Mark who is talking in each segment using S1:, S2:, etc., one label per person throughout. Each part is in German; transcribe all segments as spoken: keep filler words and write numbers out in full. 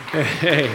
S1: Hey.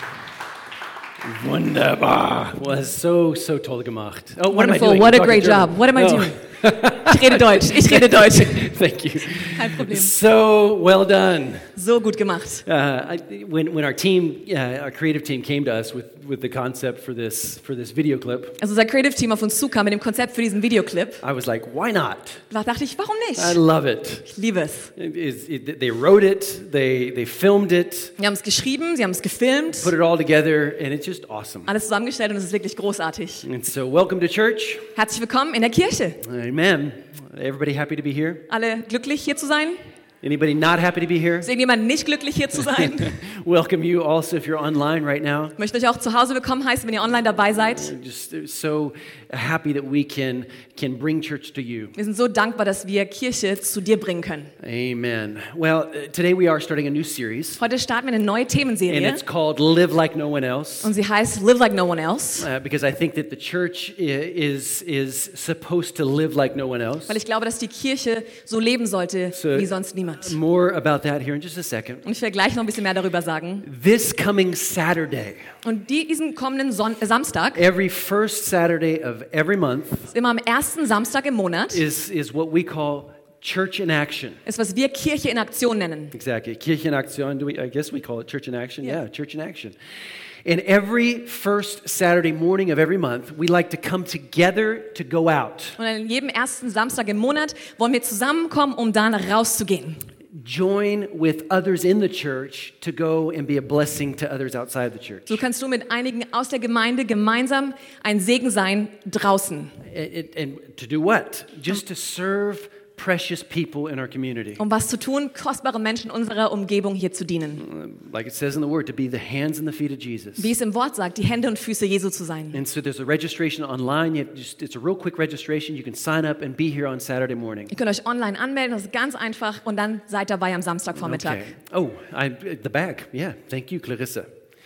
S1: Wunderbar. Was so, so toll gemacht. Oh, what
S2: Wonderful.
S1: am I doing?
S2: What a
S1: Talking
S2: great
S1: German.
S2: job. What am I
S1: Oh.
S2: doing? Ich rede Deutsch. Ich rede Deutsch.
S1: Thank you.
S2: Kein Problem.
S1: So well done.
S2: So gut gemacht.
S1: Uh, I, when when our team, uh, our creative team, came to us with, with the concept for this for this video clip,
S2: Also unser Creative Team auf uns zukam mit dem Konzept für diesen Videoclip,
S1: I was like, why not?
S2: da dachte ich, warum
S1: I
S2: nicht?
S1: love it.
S2: Ich liebe es.
S1: It is- it- They wrote it, they they filmed it,
S2: Sie haben es geschrieben, sie haben es gefilmt,
S1: put it all together, and it's just awesome.
S2: alles zusammengestellt und es ist wirklich großartig.
S1: And so, welcome to church.
S2: Herzlich willkommen in der Kirche.
S1: Amen. Everybody happy to be here?
S2: Alle glücklich hier zu sein?
S1: Anybody not happy to be here?
S2: Ist irgendjemand nicht glücklich hier zu sein?
S1: Welcome you also if you're online right now.
S2: Ich möchte euch auch zu Hause willkommen heißen, wenn ihr online dabei seid.
S1: We're just so happy that we can can bring church to you.
S2: Wir sind so dankbar, dass wir Kirche zu dir bringen können.
S1: Amen. Well, uh, today we are starting a new series,
S2: Heute starten wir eine neue
S1: and
S2: Themenserie
S1: it's called Live Like No One Else.
S2: und sie heißt Live Like No One Else,
S1: Uh, because I think that the church i- is is supposed to live like no one else.
S2: weil ich glaube, dass die Kirche so leben sollte
S1: So-
S2: wie sonst niemand.
S1: More about that here in just a second.
S2: Und ich werde gleich noch ein bisschen mehr darüber sagen.
S1: This coming Saturday,
S2: Und die, diesen kommenden Son äh, Samstag,
S1: every first Saturday of every month,
S2: ist immer am ersten Samstag im Monat,
S1: is is what we call Church in Action.
S2: ist, was wir Kirche in Aktion nennen.
S1: Exactly. Kirche in Aktion. Do we, I guess we call it Church in Action.
S2: Yeah.
S1: Yeah, Church in Action. And every first Saturday morning of every month, we like to come together to go out.
S2: Und an jedem ersten Samstag im Monat wollen wir zusammenkommen, um dann rauszugehen.
S1: Join with others in the church to go and be a blessing to others outside the church.
S2: So kannst du mit einigen aus der Gemeinde gemeinsam ein Segen sein draußen.
S1: And, and- and to do what? Just to serve precious people in our community.
S2: Um was zu tun, kostbare Menschen unserer Umgebung hier zu dienen.
S1: Like it says in the word, to be the hands and the feet of Jesus.
S2: Wie es im Wort sagt, die Hände und Füße Jesu zu sein.
S1: And so there's a registration online. You have just, it's a real quick registration. You can sign up and be here on Saturday morning.
S2: Ihr könnt euch online anmelden, das ist ganz einfach und dann seid dabei am Samstagvormittag.
S1: Okay. Oh, I, the bag. Yeah, thank you, Clarissa.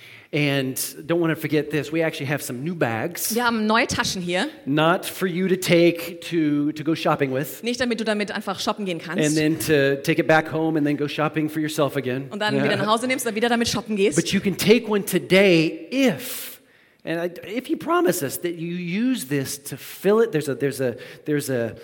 S1: And don't want to forget this. We actually have some new bags,
S2: Wir haben neue Taschen hier,
S1: not for you to take to, to go shopping with,
S2: nicht damit du damit einfach shoppen gehen
S1: and
S2: kannst
S1: then to take it back home and then go shopping for yourself again.
S2: und dann wieder nach Hause nimmst und wieder damit shoppen gehst.
S1: But you can take one today if, and I, if you promise us that you use this to fill it. There's a there's a there's a,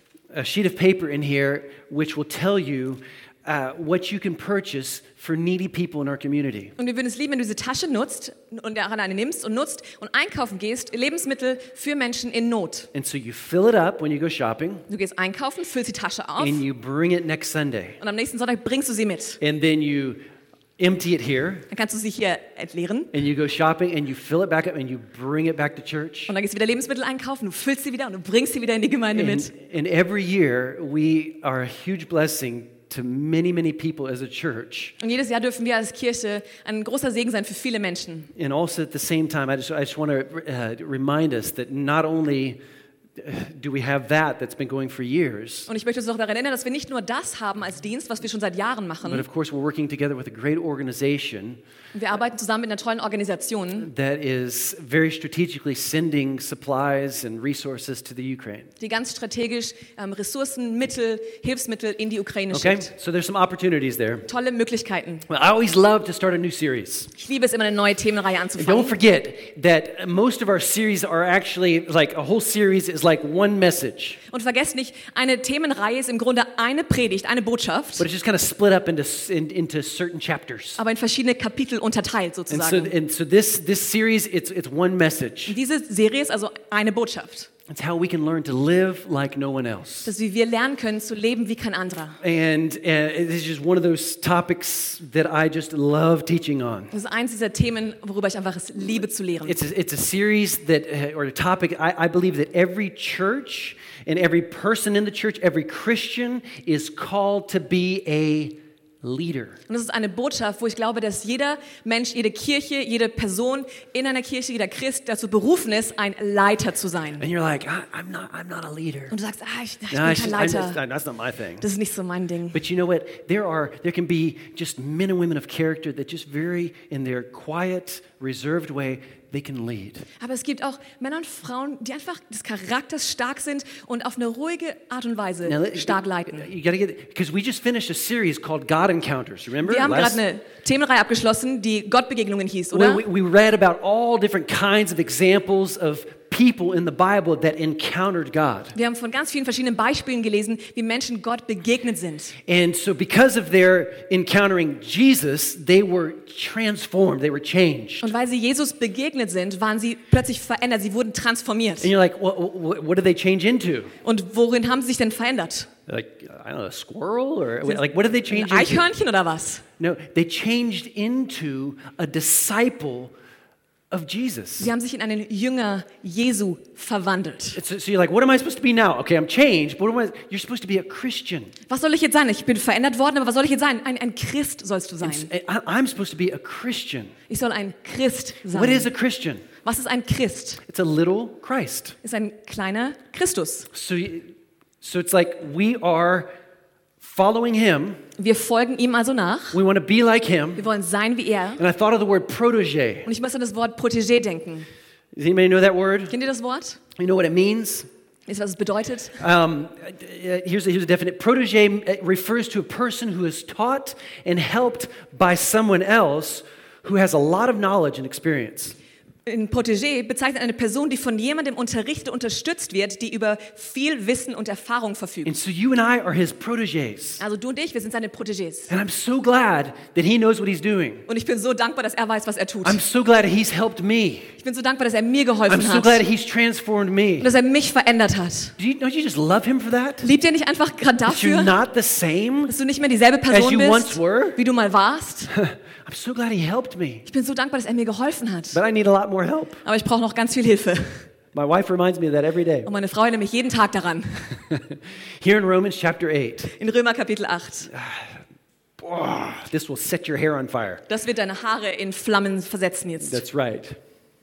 S1: a sheet of paper in here which will tell you uh, what you can purchase for needy people in our community.
S2: Und wir würden es lieben, wenn du diese Tasche nutzt und daran eine nimmst und nutzt und einkaufen gehst, Lebensmittel für Menschen in Not.
S1: And so you fill it up when you go shopping,
S2: Du gehst einkaufen, füllst die Tasche auf
S1: and you bring it next Sunday,
S2: und am nächsten Sonntag bringst du sie mit.
S1: and then you empty it here,
S2: Dann kannst du sie hier entleeren
S1: and you go shopping, and you fill it back up, and you bring it back to church.
S2: und dann gehst du wieder Lebensmittel einkaufen, du füllst sie wieder und du bringst sie wieder in die Gemeinde mit.
S1: And, and every year we are a huge blessing to many, many people as a church.
S2: Und jedes Jahr dürfen wir als Kirche ein großer Segen sein für viele Menschen.
S1: And also at the same time, I just, I just want to uh, remind us that not only do we have that that's been going for years,
S2: Und ich möchte uns auch daran erinnern, dass wir nicht nur das haben als Dienst, was wir schon seit Jahren
S1: but
S2: machen.
S1: of course we're working together with a great organization
S2: Wir arbeiten zusammen mit einer tollen Organisation,
S1: that is very strategically sending supplies and resources to the Ukraine.
S2: die ganz strategisch ähm, Ressourcen, Mittel, Hilfsmittel in die Ukraine
S1: Okay,
S2: schickt.
S1: so there's some opportunities there.
S2: Tolle Möglichkeiten.
S1: Well, I always love to start a new series.
S2: Ich liebe es immer, eine neue Themenreihe
S1: And don't
S2: anzufangen.
S1: forget that most of our series are actually like a whole series is like one message,
S2: Und vergesst nicht, eine Themenreihe ist im Grunde eine Predigt, eine Botschaft,
S1: but it's just kind of split up into in, into certain chapters.
S2: aber in verschiedene Kapitel unterteilt
S1: And so,
S2: sozusagen.
S1: and so this this series it's it's one message.
S2: Diese Serie ist also eine Botschaft.
S1: It's how we can learn to live like no one else.
S2: Dass wir lernen können, zu leben wie kein anderer.
S1: And uh, this is just one of those topics that I just love teaching on.
S2: Das ist eins dieser Themen, worüber ich einfach es liebe zu lehren.
S1: It's a, it's a series that, uh, or a topic, I, I believe that every church and every person in the church, every Christian is called to be a leader.
S2: Und das ist eine Botschaft, wo ich glaube, dass jeder Mensch, jede Kirche, jede Person in einer Kirche, jeder Christ dazu berufen ist, ein Leiter zu sein.
S1: And you're like, I, I'm not, I'm not a leader.
S2: Und du sagst, ah, ich, ich
S1: No,
S2: bin
S1: it's
S2: kein
S1: just- I'm just-
S2: Leiter.
S1: that's not my thing.
S2: Das ist nicht so mein Ding.
S1: But you know what? There are, there can be just men and women of character that just very, in their quiet, reserved way, they can lead.
S2: Aber es gibt auch Männer und Frauen, die einfach des Charakters stark sind und auf eine ruhige Art und Weise
S1: Now, let-
S2: stark leiten.
S1: You gotta get, because we just finished a series called God Encounters. Remember?
S2: Wir haben
S1: Last-
S2: gerade eine Themenreihe abgeschlossen, die Gottbegegnungen hieß,
S1: Where
S2: oder?
S1: we, we read about all different kinds of examples of people in the Bible that encountered God.
S2: Wir haben von ganz vielen verschiedenen Beispielen gelesen, wie Menschen Gott begegnet sind.
S1: And so because of their encountering Jesus, they were transformed, they were changed.
S2: Und weil sie Jesus begegnet sind, waren sie plötzlich verändert, sie wurden transformiert.
S1: And you're like, what, what, what did they change into?
S2: Und worin haben sie sich denn verändert?
S1: Like, I don't know, a squirrel? Or like, what did they change
S2: Ein
S1: into?
S2: Eichhörnchen oder was?
S1: No, they changed into a disciple of Jesus.
S2: Sie haben sich in einen Jünger Jesu verwandelt.
S1: So, so you're like, what am I supposed to be now? Okay, I'm changed, but what am I, you're supposed to be a Christian.
S2: Was soll ich jetzt sein? Ich bin verändert worden, aber was soll ich jetzt sein? Ein, ein Christ sollst du sein.
S1: I, I'm supposed to be a Christian.
S2: Ich soll ein Christ
S1: What is
S2: sein.
S1: a Christian?
S2: Was ist ein Christ?
S1: It's a little Christ.
S2: Ist ein kleiner Christus.
S1: So, you- so it's like we are following him.
S2: Wir folgen ihm also nach.
S1: We want to be like him.
S2: Wir wollen sein wie er.
S1: And I thought of the word protege.
S2: Und ich muss an das Wort Protégé denken.
S1: Does anybody know that word?
S2: Kennt ihr das Wort?
S1: You know what it means?
S2: Wisst ihr, was es bedeutet?
S1: Um, uh, here's, a, here's a definite. Protege refers to a person who is taught and helped by someone else who has a lot of knowledge and experience.
S2: Ein Protégé bezeichnet eine Person, die von jemandem unterrichtet, unterstützt wird, die über viel Wissen und Erfahrung verfügt.
S1: And so you and I are his proteges.
S2: Also du und ich, wir sind seine Protégés.
S1: And I'm so glad that he knows what he's doing.
S2: Und ich bin so dankbar, dass er weiß, was er tut.
S1: I'm so glad that he's helped me.
S2: Ich bin so dankbar, dass er mir
S1: I'm
S2: geholfen
S1: so
S2: hat.
S1: glad that he's transformed
S2: Und
S1: me.
S2: dass er mich verändert hat.
S1: Do you, don't you just love him for that?
S2: Liebt ihr nicht einfach gerade
S1: That you're
S2: dafür,
S1: not the same
S2: dass du nicht mehr dieselbe
S1: as
S2: Person
S1: you once
S2: bist,
S1: were?
S2: wie du mal warst?
S1: I'm so glad he helped me.
S2: Ich bin so dankbar, dass er mir geholfen hat.
S1: But I need a lot more help.
S2: Aber ich brauche noch ganz viel Hilfe.
S1: My wife reminds me of that every day.
S2: Und meine Frau erinnert mich jeden Tag daran.
S1: Here in Romans chapter eight,
S2: In Römer Kapitel acht.
S1: oh, this will set your hair on fire.
S2: Das wird deine Haare in Flammen versetzen jetzt.
S1: That's right.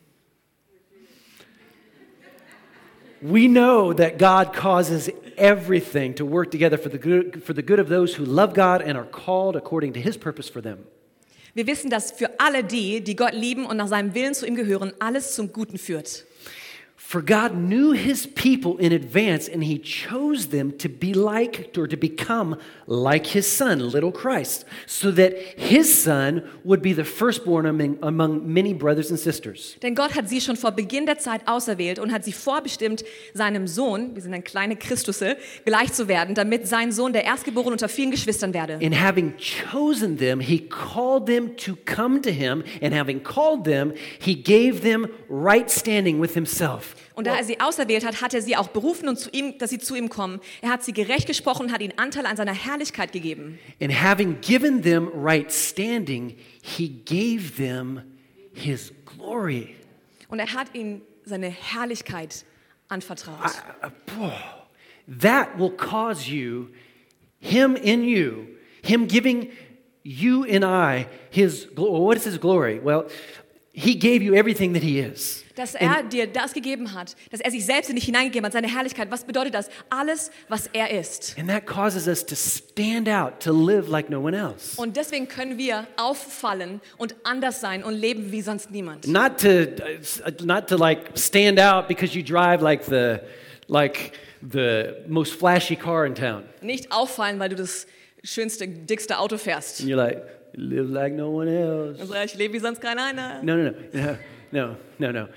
S1: We know that God causes everything to work together for the good, for the good of those who love God and are called according to his purpose for them.
S2: Wir wissen, dass für alle die, die Gott lieben und nach seinem Willen zu ihm gehören, alles zum Guten führt.
S1: For God knew his people in advance, and he chose them to be like, or to become like his son, little Christ, so that his son would be the firstborn among, among many brothers and sisters.
S2: Denn Gott hat sie schon vor Beginn der Zeit auserwählt und hat sie vorbestimmt, seinem Sohn, wir sind ein kleine Christusse, gleich zu werden, damit sein Sohn der Erstgeborene unter vielen Geschwistern werde.
S1: And having chosen them, he called them to come to him, and having called them, he gave them right standing with himself.
S2: Und da er sie auserwählt hat, hat er sie auch berufen, und zu ihm, dass sie zu ihm kommen. Er hat sie gerecht gesprochen und hat ihnen Anteil an seiner Herrlichkeit gegeben.
S1: And having given them right standing, he gave them his glory.
S2: Und er hat ihnen seine Herrlichkeit anvertraut.
S1: I- uh, boy, that will cause you, him in you, him giving you and I his glory. What is his glory? Well, he gave you everything that he is.
S2: Dass er dir das gegeben hat, dass er sich selbst in dich hineingegeben hat, seine Herrlichkeit. Was bedeutet das? Alles, was er ist.
S1: And that causes us to stand out, to live like no one else.
S2: Und deswegen können wir auffallen und anders sein und leben wie sonst niemand.
S1: Not to, uh, not to like stand out because you drive like the, like the most flashy car in town.
S2: Nicht auffallen, weil du das schönste, dickste Auto fährst.
S1: And you're like, live like no one else.
S2: Also ich lebe wie sonst kein einer.
S1: No, no, no, no, no, no.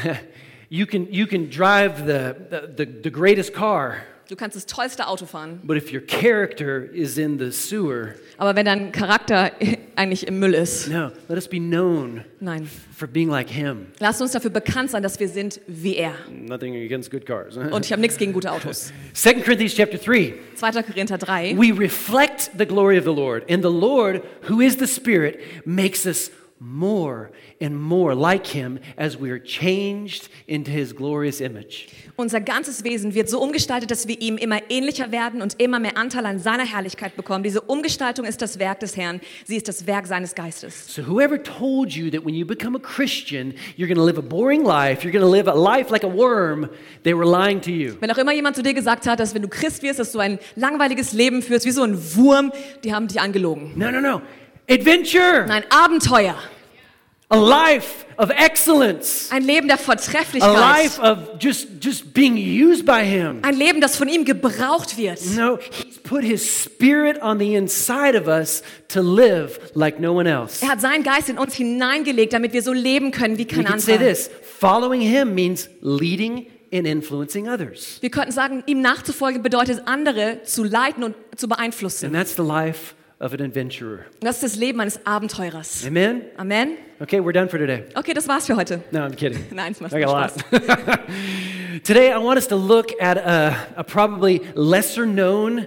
S1: you can you can drive the, the the greatest car,
S2: Du kannst das tollste Auto fahren.
S1: but if your character is in the sewer,
S2: Aber wenn dein Charakter eigentlich im Müll ist,
S1: no. Let us be known
S2: nein.
S1: for being like him.
S2: Lasst uns dafür bekannt sein, dass wir sind wie er.
S1: Nothing against good cars.
S2: Und ich habe nichts gegen gute Autos.
S1: Second Corinthians chapter three.
S2: zweiter Korinther drei.
S1: We reflect the glory of the Lord, and the Lord, who is the Spirit, makes us more and more like him as we are changed into his glorious image.
S2: Unser ganzes Wesen wird so umgestaltet, dass wir ihm immer ähnlicher werden und immer mehr Anteil an seiner Herrlichkeit bekommen. Diese Umgestaltung ist das Werk des Herrn. Sie ist das Werk seines Geistes.
S1: So whoever told you that when you become a Christian, you're going to live a boring life, you're going to live a life like a worm, they were lying to you.
S2: Wenn auch immer jemand zu dir gesagt hat, dass wenn du Christ wirst, dass du ein langweiliges Leben führst, wie so ein Wurm, die haben dich angelogen.
S1: No, no, no. Adventure.
S2: Nein, Abenteuer.
S1: A life of excellence.
S2: Ein Leben der
S1: A
S2: Vortrefflichkeit.
S1: life of just, just being used by him.
S2: Ein Leben, das von ihm gebraucht wird.
S1: No, he's put his spirit on the inside of us to live like no one else.
S2: Er hat seinen Geist in uns hineingelegt, damit wir so leben können wie
S1: We
S2: kein
S1: can say
S2: anderer.
S1: this, following him means leading and influencing others.
S2: Wir könnten sagen, ihm nachzufolgen bedeutet, andere zu leiten und zu beeinflussen.
S1: And that's the life of an adventurer.
S2: Und das ist das Leben eines Abenteurers.
S1: Amen?
S2: Amen.
S1: Okay, we're done for today.
S2: Okay, das war's für heute.
S1: No, I'm kidding.
S2: Nein, es macht
S1: I got a
S2: Spaß.
S1: lot. Today, I want us to look at a, a probably lesser known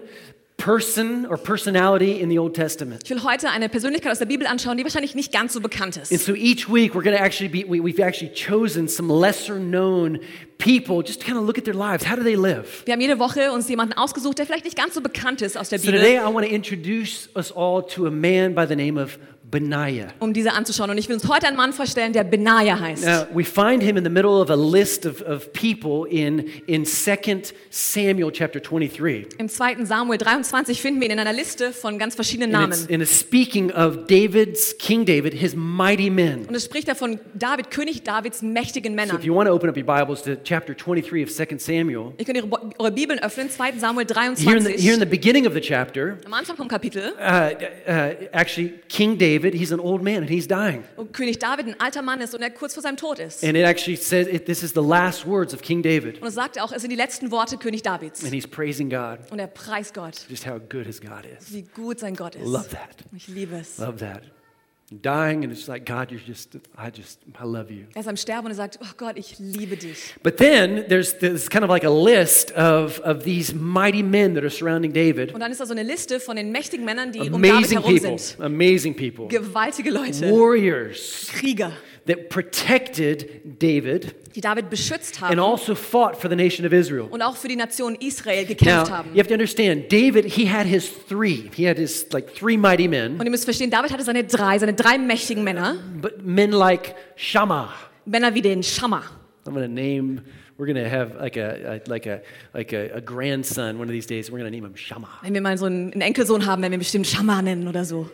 S1: person or personality in the Old Testament.
S2: Ich will heute eine Persönlichkeit aus der Bibel anschauen, die wahrscheinlich nicht ganz so bekannt
S1: And
S2: ist.
S1: so each week, we're going to actually be, we, we've actually chosen some lesser known people just to kind of look at their lives. How do they live?
S2: Wir haben jede Woche uns jemanden ausgesucht, der vielleicht nicht ganz so bekannt ist aus der
S1: So today,
S2: Bibel,
S1: I want to introduce us all to a man by the name of Benaiah.
S2: um diese anzuschauen. Und ich will uns heute einen Mann vorstellen, der Benaja heißt.
S1: Now, we find him in the middle of a list of, of people in, in Second Samuel chapter twenty-three.
S2: Im zweiten Samuel dreiundzwanzig finden wir ihn in einer Liste von ganz verschiedenen
S1: And it's,
S2: Namen.
S1: and it's speaking of David's, King David, his mighty men.
S2: Und es spricht da von David, König Davids mächtigen
S1: So
S2: Männern.
S1: if you want to open up your Bibles to chapter twenty-three of Second Samuel,
S2: Ihr könnt ihre, Bo- eure Bibeln öffnen, zweiten Samuel
S1: here in, the,
S2: dreiundzwanzig.
S1: here in the beginning of the chapter,
S2: Am Anfang vom Kapitel,
S1: uh, uh, actually, King David, he's an old man and he's dying.
S2: wo König David ein alter Mann ist und er kurz vor seinem Tod ist.
S1: And it actually says it, this is the last words of King David.
S2: Und es sagt auch, es sind die letzten Worte König Davids.
S1: And he's praising God,
S2: Und er preist Gott,
S1: just how good his God is.
S2: wie gut sein Gott ist.
S1: Love that.
S2: Ich liebe es.
S1: Love that. Dying, and it's like, God, you're just, I just, I love you.
S2: Er ist am Sterben und er sagt, oh Gott, ich liebe dich.
S1: But then there's, there's kind of like a list of, of these mighty men that are surrounding David.
S2: Und dann ist da so eine Liste von den mächtigen Männern, die um David
S1: Amazing
S2: herum
S1: people.
S2: sind.
S1: Amazing people.
S2: Gewaltige Leute,
S1: Warriors
S2: Krieger,
S1: that protected David
S2: die David beschützt
S1: and
S2: haben
S1: also fought for the nation of Israel.
S2: und auch für die Nation Israel gekämpft
S1: Now,
S2: haben.
S1: you have to understand, David, he had his three. He had his like three mighty men,
S2: Und ihr müsst verstehen, David hatte seine drei, seine drei mächtigen Männer,
S1: but men like Shammah.
S2: Männer wie den Schammer.
S1: I'm going to name, we're going to have like a, a like a like a, a grandson one of these days. We're going to name him Shammah.
S2: Wenn wir mal so einen einen Enkelsohn haben, werden wir bestimmt Schammer nennen oder so.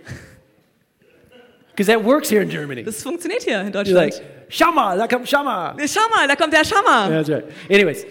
S1: Because that works here in Germany.
S2: Das funktioniert hier in
S1: You're
S2: Deutschland.
S1: like, Shammah, da kommt Shammah.
S2: Der Schammer, da kommt der Schammer.
S1: That's right. Anyways,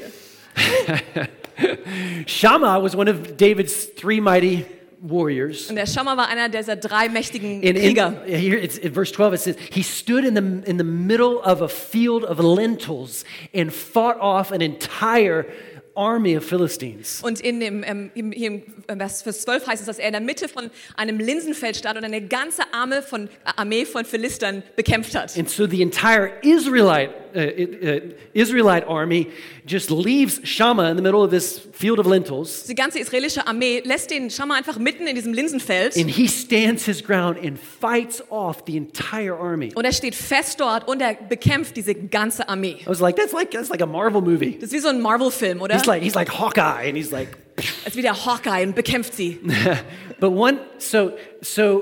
S1: Shammah was one of David's three mighty warriors.
S2: Und der Schammer war einer dieser drei mächtigen
S1: In, in,
S2: Krieger.
S1: here it's in verse twelve, it says, he stood in the, in the middle of a field of lentils and fought off an entire army of Philistines.
S2: Und in dem, ähm, im, hier im Vers Vers zwölf heißt es, dass er in der Mitte von einem Linsenfeld stand und eine ganze Arme von, äh, Armee von Philistern bekämpft hat.
S1: And so the entire Israelite, uh, uh, Israelite army just leaves Shammah in the middle of this field of lentils,
S2: Die ganze israelische Armee lässt den Schammer einfach mitten in diesem Linsenfeld
S1: and he stands his ground and fights off the entire army.
S2: und er steht fest dort und er bekämpft diese ganze Armee.
S1: I was like, that's like that's like a Marvel movie.
S2: Das ist wie so ein Marvel-Film, oder?
S1: He's like he's like Hawkeye, and he's like.
S2: Als wie der Hawkeye und bekämpft sie.
S1: But one, so so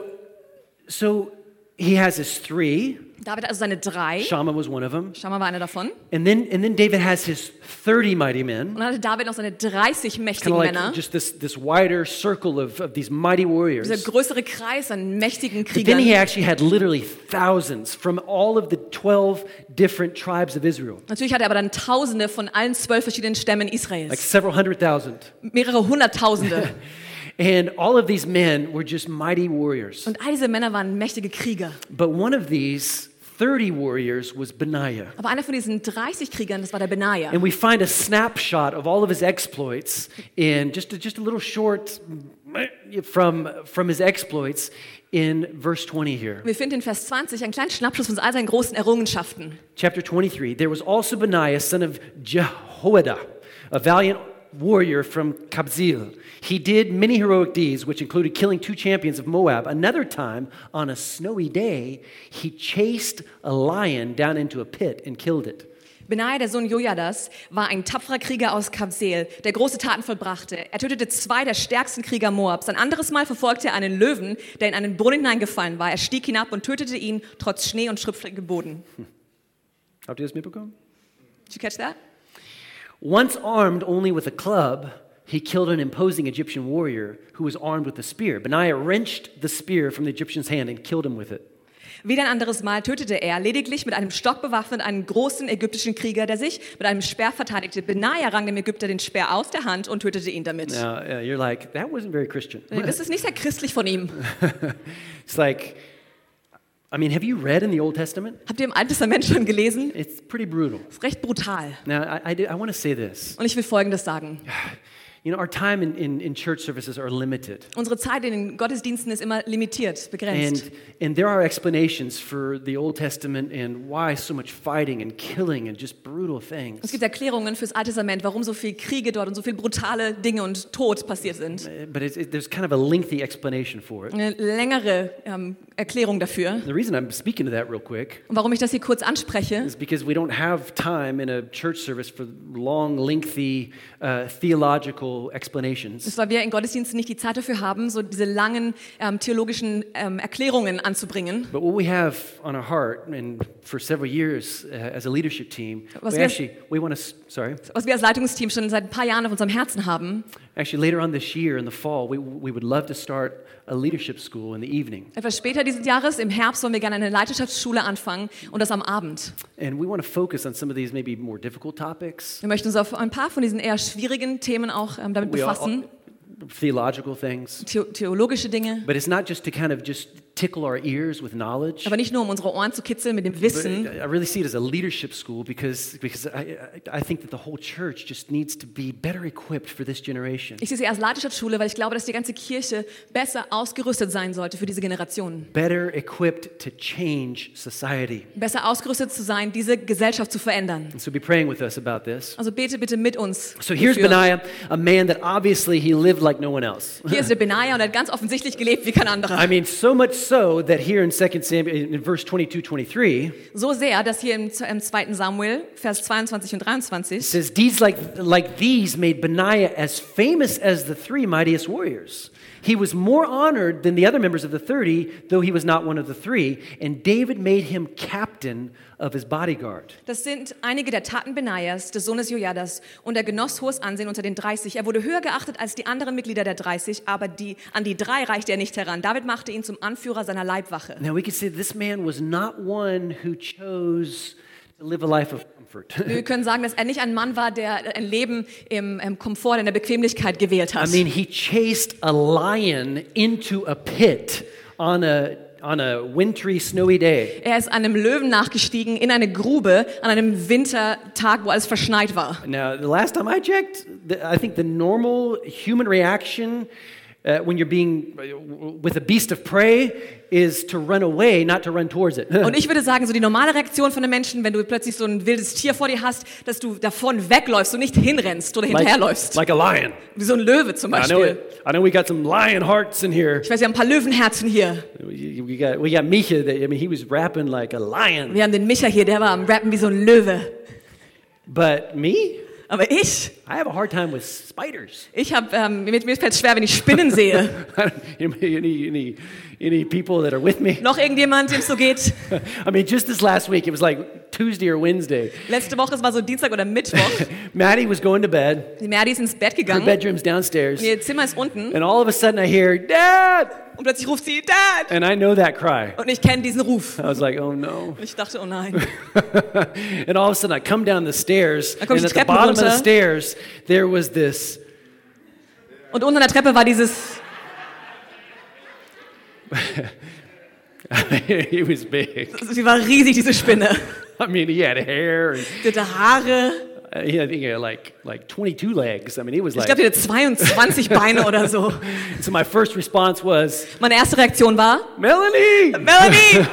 S1: so he has his three.
S2: David hat also seine drei.
S1: Shammah was one of them,
S2: Schammer war einer davon.
S1: and then and then David has his thirty mighty men.
S2: Und dann hatte David noch seine dreißig
S1: Kind
S2: mächtigen
S1: of like
S2: Männer.
S1: just this this wider circle of, of these mighty warriors.
S2: Dieser größere Kreis an mächtigen
S1: But then he
S2: Kriegern.
S1: actually had literally thousands from all of the twelve different tribes of Israel,
S2: Natürlich hatte er aber dann Tausende von allen zwölf verschiedenen Stämmen
S1: like
S2: Israels.
S1: several hundred thousand.
S2: Mehrere Hunderttausende.
S1: And all of these men were just mighty warriors.
S2: Und all diese Männer waren mächtige Krieger.
S1: But one of these thirty warriors was Benaiah.
S2: Aber einer von diesen dreißig Kriegern, das war der Benaja.
S1: And we find a snapshot of all of his exploits in just a, just a little short from, from his exploits in verse twenty here.
S2: Wir finden in Vers zwanzig einen kleinen Schnappschuss von all seinen großen Errungenschaften.
S1: Chapter twenty-three, there was also Benaiah, son of Jehoiada, a valiant warrior from Kabzeel. He did many heroic deeds, which included killing two champions of Moab. Another time, on a snowy day, he chased a lion down into a pit and killed it.
S2: Benaja, der Sohn Jojadas, war ein tapferer Krieger aus Kabseel, der große Taten vollbrachte. Er tötete zwei der stärksten Krieger Moabs. Ein anderes Mal verfolgte er einen Löwen, der in einen Brunnen hineingefallen war. Er stieg hinab und tötete ihn, trotz Schnee und schriftrigem Boden.
S1: Habt ihr das mitbekommen?
S2: Did you catch that?
S1: Once armed only with a club, he killed an imposing Egyptian warrior who was armed with a spear. Benaiah wrenched the spear from the Egyptian's hand and killed him with it.
S2: Wieder ein anderes Mal tötete er, lediglich mit einem Stock bewaffnet, einen großen ägyptischen Krieger, der sich mit einem Speer verteidigte. Benaja rang dem Ägypter den Speer aus der Hand und tötete ihn damit.
S1: Now, uh, you're like, that wasn't very Christian.
S2: Das ist nicht sehr christlich von ihm.
S1: It's like, I mean, have you read in the Old Testament?
S2: Habt ihr im Alten Testament schon gelesen?
S1: It's pretty brutal.
S2: Das ist recht brutal.
S1: Now, I, I, do- I want to say this.
S2: Und ich will Folgendes sagen.
S1: You know, our time in, in, in church services are limited.
S2: Unsere Zeit in den Gottesdiensten ist immer limitiert, begrenzt.
S1: And, and there are explanations for the Old Testament and why so much fighting and killing and just brutal
S2: Es
S1: things.
S2: gibt Erklärungen fürs Alte Testament, warum so viel Kriege dort und so viel brutale Dinge und Tod passiert sind.
S1: Uh, But it's, it, there's kind of a lengthy explanation for it.
S2: Eine längere ähm, Erklärung dafür.
S1: The reason I'm speaking to that real quick
S2: Und warum ich das hier kurz anspreche,
S1: is because we don't have time in a church service for long, lengthy uh, theological explanations.
S2: ist, weil wir in Gottesdiensten nicht die Zeit dafür haben, so diese langen ähm, theologischen ähm, Erklärungen anzubringen.
S1: But what we have on our heart, and for several years uh, as a leadership team,
S2: Was
S1: we
S2: wir-
S1: actually we want to. Sorry,
S2: Was wir als Leitungsteam schon seit ein paar Jahren auf unserem Herzen haben.
S1: actually later on this year in the fall, we we would love to start a leadership school in the evening,
S2: Etwas später dieses Jahres, im Herbst, wollen wir gerne eine Leiterschaftsschule anfangen und das am Abend.
S1: and we want to focus on some of these maybe more difficult topics,
S2: Wir möchten uns auf ein paar von diesen eher schwierigen Themen auch ähm, damit
S1: We all-
S2: befassen,
S1: theological things.
S2: The theologische Dinge.
S1: But it's not just to kind of just tickle our ears with knowledge.
S2: Aber nicht nur, um unsere Ohren zu kitzeln mit dem
S1: But
S2: Wissen.
S1: I really see it as a leadership school because, because I, I I think that the whole church just needs to be better equipped for this generation.
S2: Ich sehe sie als Leiterschaftsschule, weil ich glaube, dass die ganze Kirche besser ausgerüstet sein sollte für diese Generation.
S1: Better equipped to change society.
S2: Besser ausgerüstet zu sein, diese Gesellschaft zu verändern.
S1: And so be praying with us about this.
S2: Also bete bitte mit uns.
S1: So here's
S2: dafür.
S1: Benaiah, a man that obviously he lived like no one else.
S2: Hier ist der Benaja und er hat ganz offensichtlich gelebt wie kein anderer.
S1: I mean, so much so that here in Second Samuel, in verse twenty-two, twenty-three,
S2: So sehr, dass hier im, im zweiten Samuel, Vers zweiundzwanzig und
S1: it
S2: dreiundzwanzig,
S1: says, deeds like, like these made Benaiah as famous as the three mightiest warriors. He was more honored than the other members of the thirty, though he was not one of the three. And David made him captain of his bodyguard.
S2: das sind einige der Taten Benajas, des Sohnes Jojadas, und er genoss hohes Ansehen unter den dreißig. Er wurde höher geachtet als die anderen Mitglieder der dreißig, aber die, an die drei reichte er nicht heran. David machte ihn zum Anführer seiner Leibwache.
S1: Now we can say this man was not one who chose to live a life of comfort.
S2: Wir können sagen, dass er nicht ein Mann war, der ein Leben im, im Komfort, in der Bequemlichkeit gewählt hat.
S1: I mean, he chased a lion into a pit on a on a wintry, snowy day.
S2: Er ist einem Löwen nachgestiegen in eine Grube an einem Wintertag, wo alles verschneit war.
S1: Now, the last time I checked, the, I think the normal human reaction uh, when you're being uh, with a beast of prey is to run away, not to run towards it.
S2: Und ich würde sagen, so die normale Reaktion von einem Menschen, wenn du plötzlich so ein wildes Tier vor dir hast, dass du davon wegläufst und nicht hinrennst oder hinterherläufst.
S1: like a lion.
S2: Wie so ein Löwe zum
S1: I know
S2: Beispiel.
S1: it. I know we got some lion hearts in here.
S2: Ich weiß, wir haben ein paar Löwenherzen hier.
S1: We, we got we got Misha. That, I mean, he was rapping like a lion.
S2: Wir haben den Micha hier, der war am Rappen wie so ein Löwe.
S1: But me,
S2: Aber ich,
S1: I have a hard time with spiders.
S2: ich habe, ähm, mir, mir fällt es schwer, wenn ich Spinnen sehe.
S1: any, any, any people that are with me?
S2: Noch irgendjemand, dem es so geht?
S1: I mean, just this last week, it was like Tuesday or Wednesday.
S2: Letzte Woche, es war so Dienstag oder Mittwoch.
S1: Maddie was going to bed.
S2: Die Merdi ist ins Bett
S1: Her
S2: gegangen.
S1: bedroom's downstairs.
S2: Ihr Zimmer ist unten.
S1: And all of a sudden I hear, Dad!
S2: Und plötzlich ruft sie, Dad!
S1: And I know that cry.
S2: Und ich kenne diesen Ruf.
S1: I was like, oh no.
S2: Und ich dachte, oh nein.
S1: And all of a sudden I come down the stairs.
S2: Da komm ich
S1: And
S2: die
S1: at the
S2: Treppen
S1: bottom of the
S2: runter.
S1: stairs, there was this.
S2: Und unten an der Treppe war dieses,
S1: He was big.
S2: sie war riesig, diese Spinne.
S1: I mean, he had hair. And
S2: Sie hatte Haare.
S1: uh, he had, he had like, like twenty-two legs. I mean, he was
S2: Ich
S1: like.
S2: glaube, die hatte zweiundzwanzig Beine oder so.
S1: So my first response was,
S2: Meine erste Reaktion war,
S1: Melanie!
S2: Melanie!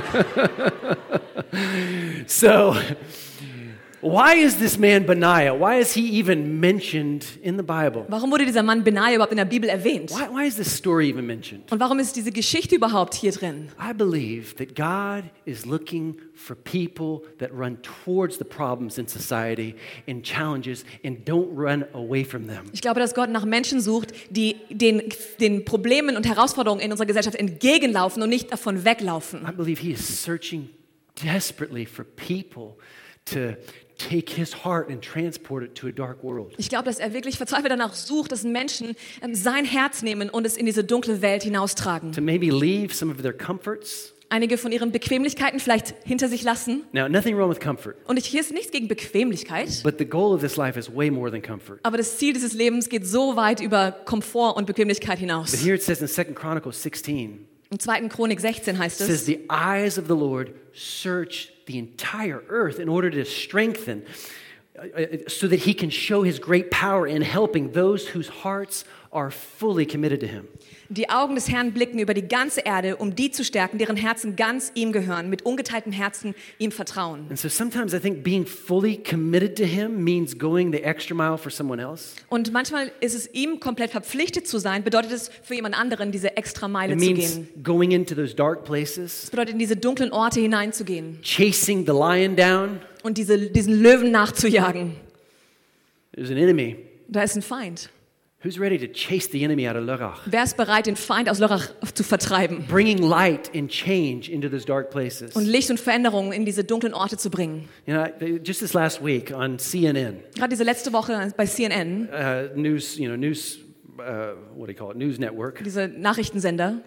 S1: So, why is this man Benaiah? Why is he even mentioned in the Bible?
S2: Warum wurde dieser Mann Benaja überhaupt in der Bibel erwähnt?
S1: Why, why is this story even mentioned?
S2: Und warum ist diese Geschichte überhaupt hier drin?
S1: I believe that God is looking for people that run towards the problems in society and challenges and don't run away from them.
S2: Ich glaube, dass Gott nach Menschen sucht, die den, den Problemen und Herausforderungen in unserer Gesellschaft entgegenlaufen und nicht davon weglaufen.
S1: I believe he is searching desperately for people to take his heart and transport it to a dark world.
S2: Ich glaube, dass er wirklich verzweifelt danach sucht, dass Menschen ähm, sein Herz nehmen und es in diese dunkle Welt hinaustragen.
S1: To maybe leave some of their comforts
S2: einige von ihren Bequemlichkeiten vielleicht hinter sich lassen.
S1: Now, nothing wrong with comfort,
S2: Und ich, hier ist nichts gegen Bequemlichkeit,
S1: but the goal of this life is way more than comfort.
S2: aber das Ziel dieses Lebens geht so weit über Komfort und Bequemlichkeit
S1: But
S2: hinaus.
S1: here it says in Second Chronicles sixteen,
S2: Im zweiten Chronik sechzehn heißt
S1: it says,
S2: es,
S1: the eyes of the Lord search the entire earth in order to strengthen, uh, uh, so that he can show his great power in helping those whose hearts are fully committed to him.
S2: die Augen des Herrn blicken über die ganze Erde, um die zu stärken, deren Herzen ganz ihm gehören, mit ungeteiltem Herzen ihm vertrauen.
S1: And so sometimes I think being fully committed to him means going the extra mile for someone else.
S2: Und manchmal ist es ihm komplett verpflichtet zu sein, bedeutet es für jemand anderen, diese extra Meile
S1: It
S2: zu
S1: means
S2: gehen.
S1: going into those dark places,
S2: Es bedeutet, in diese dunklen Orte hineinzugehen
S1: chasing the lion down.
S2: und diese, diesen Löwen nachzujagen.
S1: There's an enemy.
S2: Da ist ein Feind.
S1: Who's ready to chase the enemy out of Lörrach?
S2: Wer ist bereit, den Feind aus Lörrach zu vertreiben
S1: Bringing light and change into those dark places.
S2: und Licht und Veränderung in diese dunklen Orte zu bringen?
S1: You know, just this last week on C N N,
S2: Gerade diese letzte Woche bei C N N,
S1: uh, news, you know, news, uh, what do you call it, news network.
S2: diese Nachrichtensender,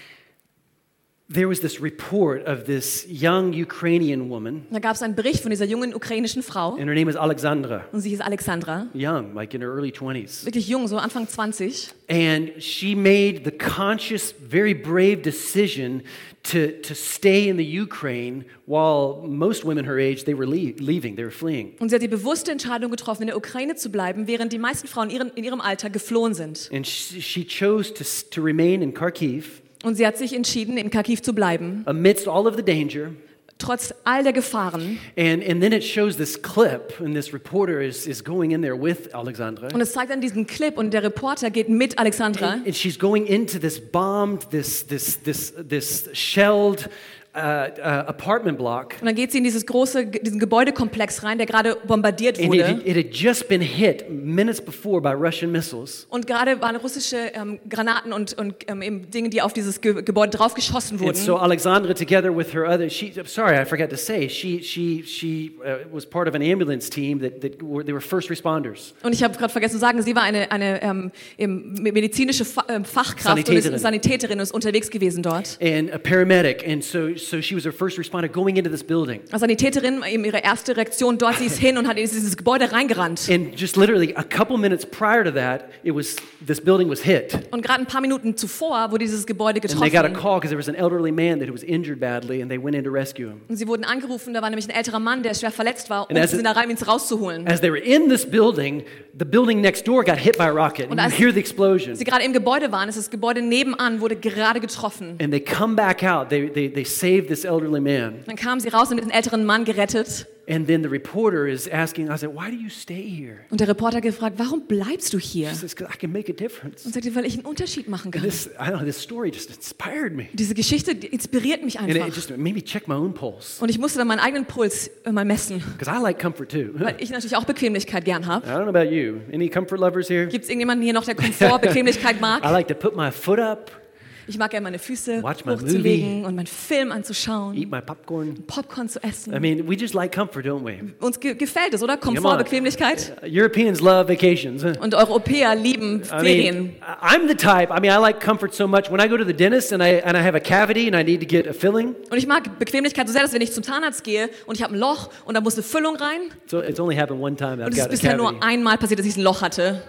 S1: There was this report of this young Ukrainian woman,
S2: da gab es einen Bericht von dieser jungen ukrainischen Frau
S1: and her name is Alexandra.
S2: und sie hieß Alexandra,
S1: Young, like in her early twenties.
S2: wirklich jung, so Anfang zwanzig.
S1: And she made the conscious, very brave decision to, to stay in the Ukraine while most women her age, they were le- leaving, they were fleeing.
S2: Und sie hat die bewusste Entscheidung getroffen, in der Ukraine zu bleiben, während die meisten Frauen in ihrem, in ihrem Alter geflohen sind.
S1: And she, she chose to, to remain in Kharkiv
S2: Und sie hat sich entschieden, in Kharkiv zu bleiben,
S1: amidst all of the danger.
S2: trotz all der Gefahren.
S1: And, and then it shows this clip, and this reporter is, is going in there with Alexandra.
S2: Und es zeigt dann diesen Clip und der Reporter geht mit Alexandra.
S1: And, and she's going into this bombed, this, this, this, this shelled uh, uh, apartment block.
S2: Und dann geht sie in dieses große, diesen Gebäudekomplex rein, der gerade bombardiert
S1: And
S2: wurde.
S1: it, it had just been hit minutes before by Russian missiles.
S2: Und gerade waren russische ähm, Granaten und, und ähm, eben Dinge, die auf dieses Ge Gebäude draufgeschossen
S1: And so
S2: wurden.
S1: Alexandra, together with her other, she, sorry, I forgot to say, she, she, she uh, was part of an ambulance team that, that were, they were first responders.
S2: Und ich habe gerade vergessen zu sagen, sie war eine, eine ähm, eben medizinische Fa ähm, Fachkraft und
S1: Sanitäterin.
S2: ist Sanitäterin und ist unterwegs gewesen dort.
S1: And a paramedic, and so, so she was a first responder going into this building.
S2: Als Sanitäterin, eben ihre erste Reaktion dort, sie ist hin und hat in dieses Gebäude reingerannt.
S1: And just literally a couple minutes prior to that, it was, this building was hit.
S2: Und gerade ein paar Minuten zuvor wurde dieses Gebäude
S1: And they got a
S2: getroffen.
S1: call because there was an elderly man that was injured badly, and they went in to rescue him.
S2: Und sie wurden angerufen, da war nämlich ein älterer Mann, der schwer verletzt war, und
S1: And as
S2: sie sind
S1: it-
S2: da rein, um ihn rauszuholen.
S1: As they were in this building, the building next door got hit by a rocket, and
S2: Und
S1: you
S2: als-
S1: hear the explosion.
S2: Sie gerade im Gebäude waren, ist das Gebäude nebenan, wurde gerade getroffen.
S1: And they come back out. They, they, they save this elderly man.
S2: Dann kamen sie raus und den älteren Mann gerettet.
S1: And then the reporter is asking, I said, why do you stay here?
S2: Und der Reporter hat gefragt, warum bleibst du hier?
S1: She says, because I can make a difference.
S2: Und sagte, weil ich einen Unterschied machen
S1: And
S2: kann.
S1: this, I don't know, this story just inspired me.
S2: Diese Geschichte die inspiriert mich
S1: And it
S2: einfach.
S1: just made me check my own pulse.
S2: Und ich musste dann meinen eigenen Puls äh, mal messen,
S1: Because I like comfort too.
S2: weil ich natürlich auch Bequemlichkeit gern
S1: I
S2: habe.
S1: don't know about you. Any comfort lovers here?
S2: Gibt es irgendjemanden hier noch, der Komfort, Bequemlichkeit
S1: I
S2: mag?
S1: like to put my foot up,
S2: Ich mag gerne meine Füße
S1: Watch my
S2: hochzulegen und meinen Film anzuschauen,
S1: eat my popcorn.
S2: Popcorn zu essen.
S1: I mean, we just like comfort, don't we?
S2: Uns ge gefällt es, oder?
S1: Come
S2: Komfort,
S1: on.
S2: Bequemlichkeit.
S1: Uh, Europeans love vacations. huh?
S2: Und Europäer lieben
S1: I
S2: Ferien.
S1: mean, I'm the type, I mean, I like comfort so much. When I go to the dentist and I, and I have a cavity and I need to get a filling,
S2: Und ich mag Bequemlichkeit so sehr, dass wenn ich zum Zahnarzt gehe und ich habe ein Loch und da muss eine Füllung rein,
S1: so it's only happened one time. I've
S2: und es ist
S1: got a
S2: bisher
S1: cavity.
S2: nur einmal passiert, dass ich ein Loch hatte.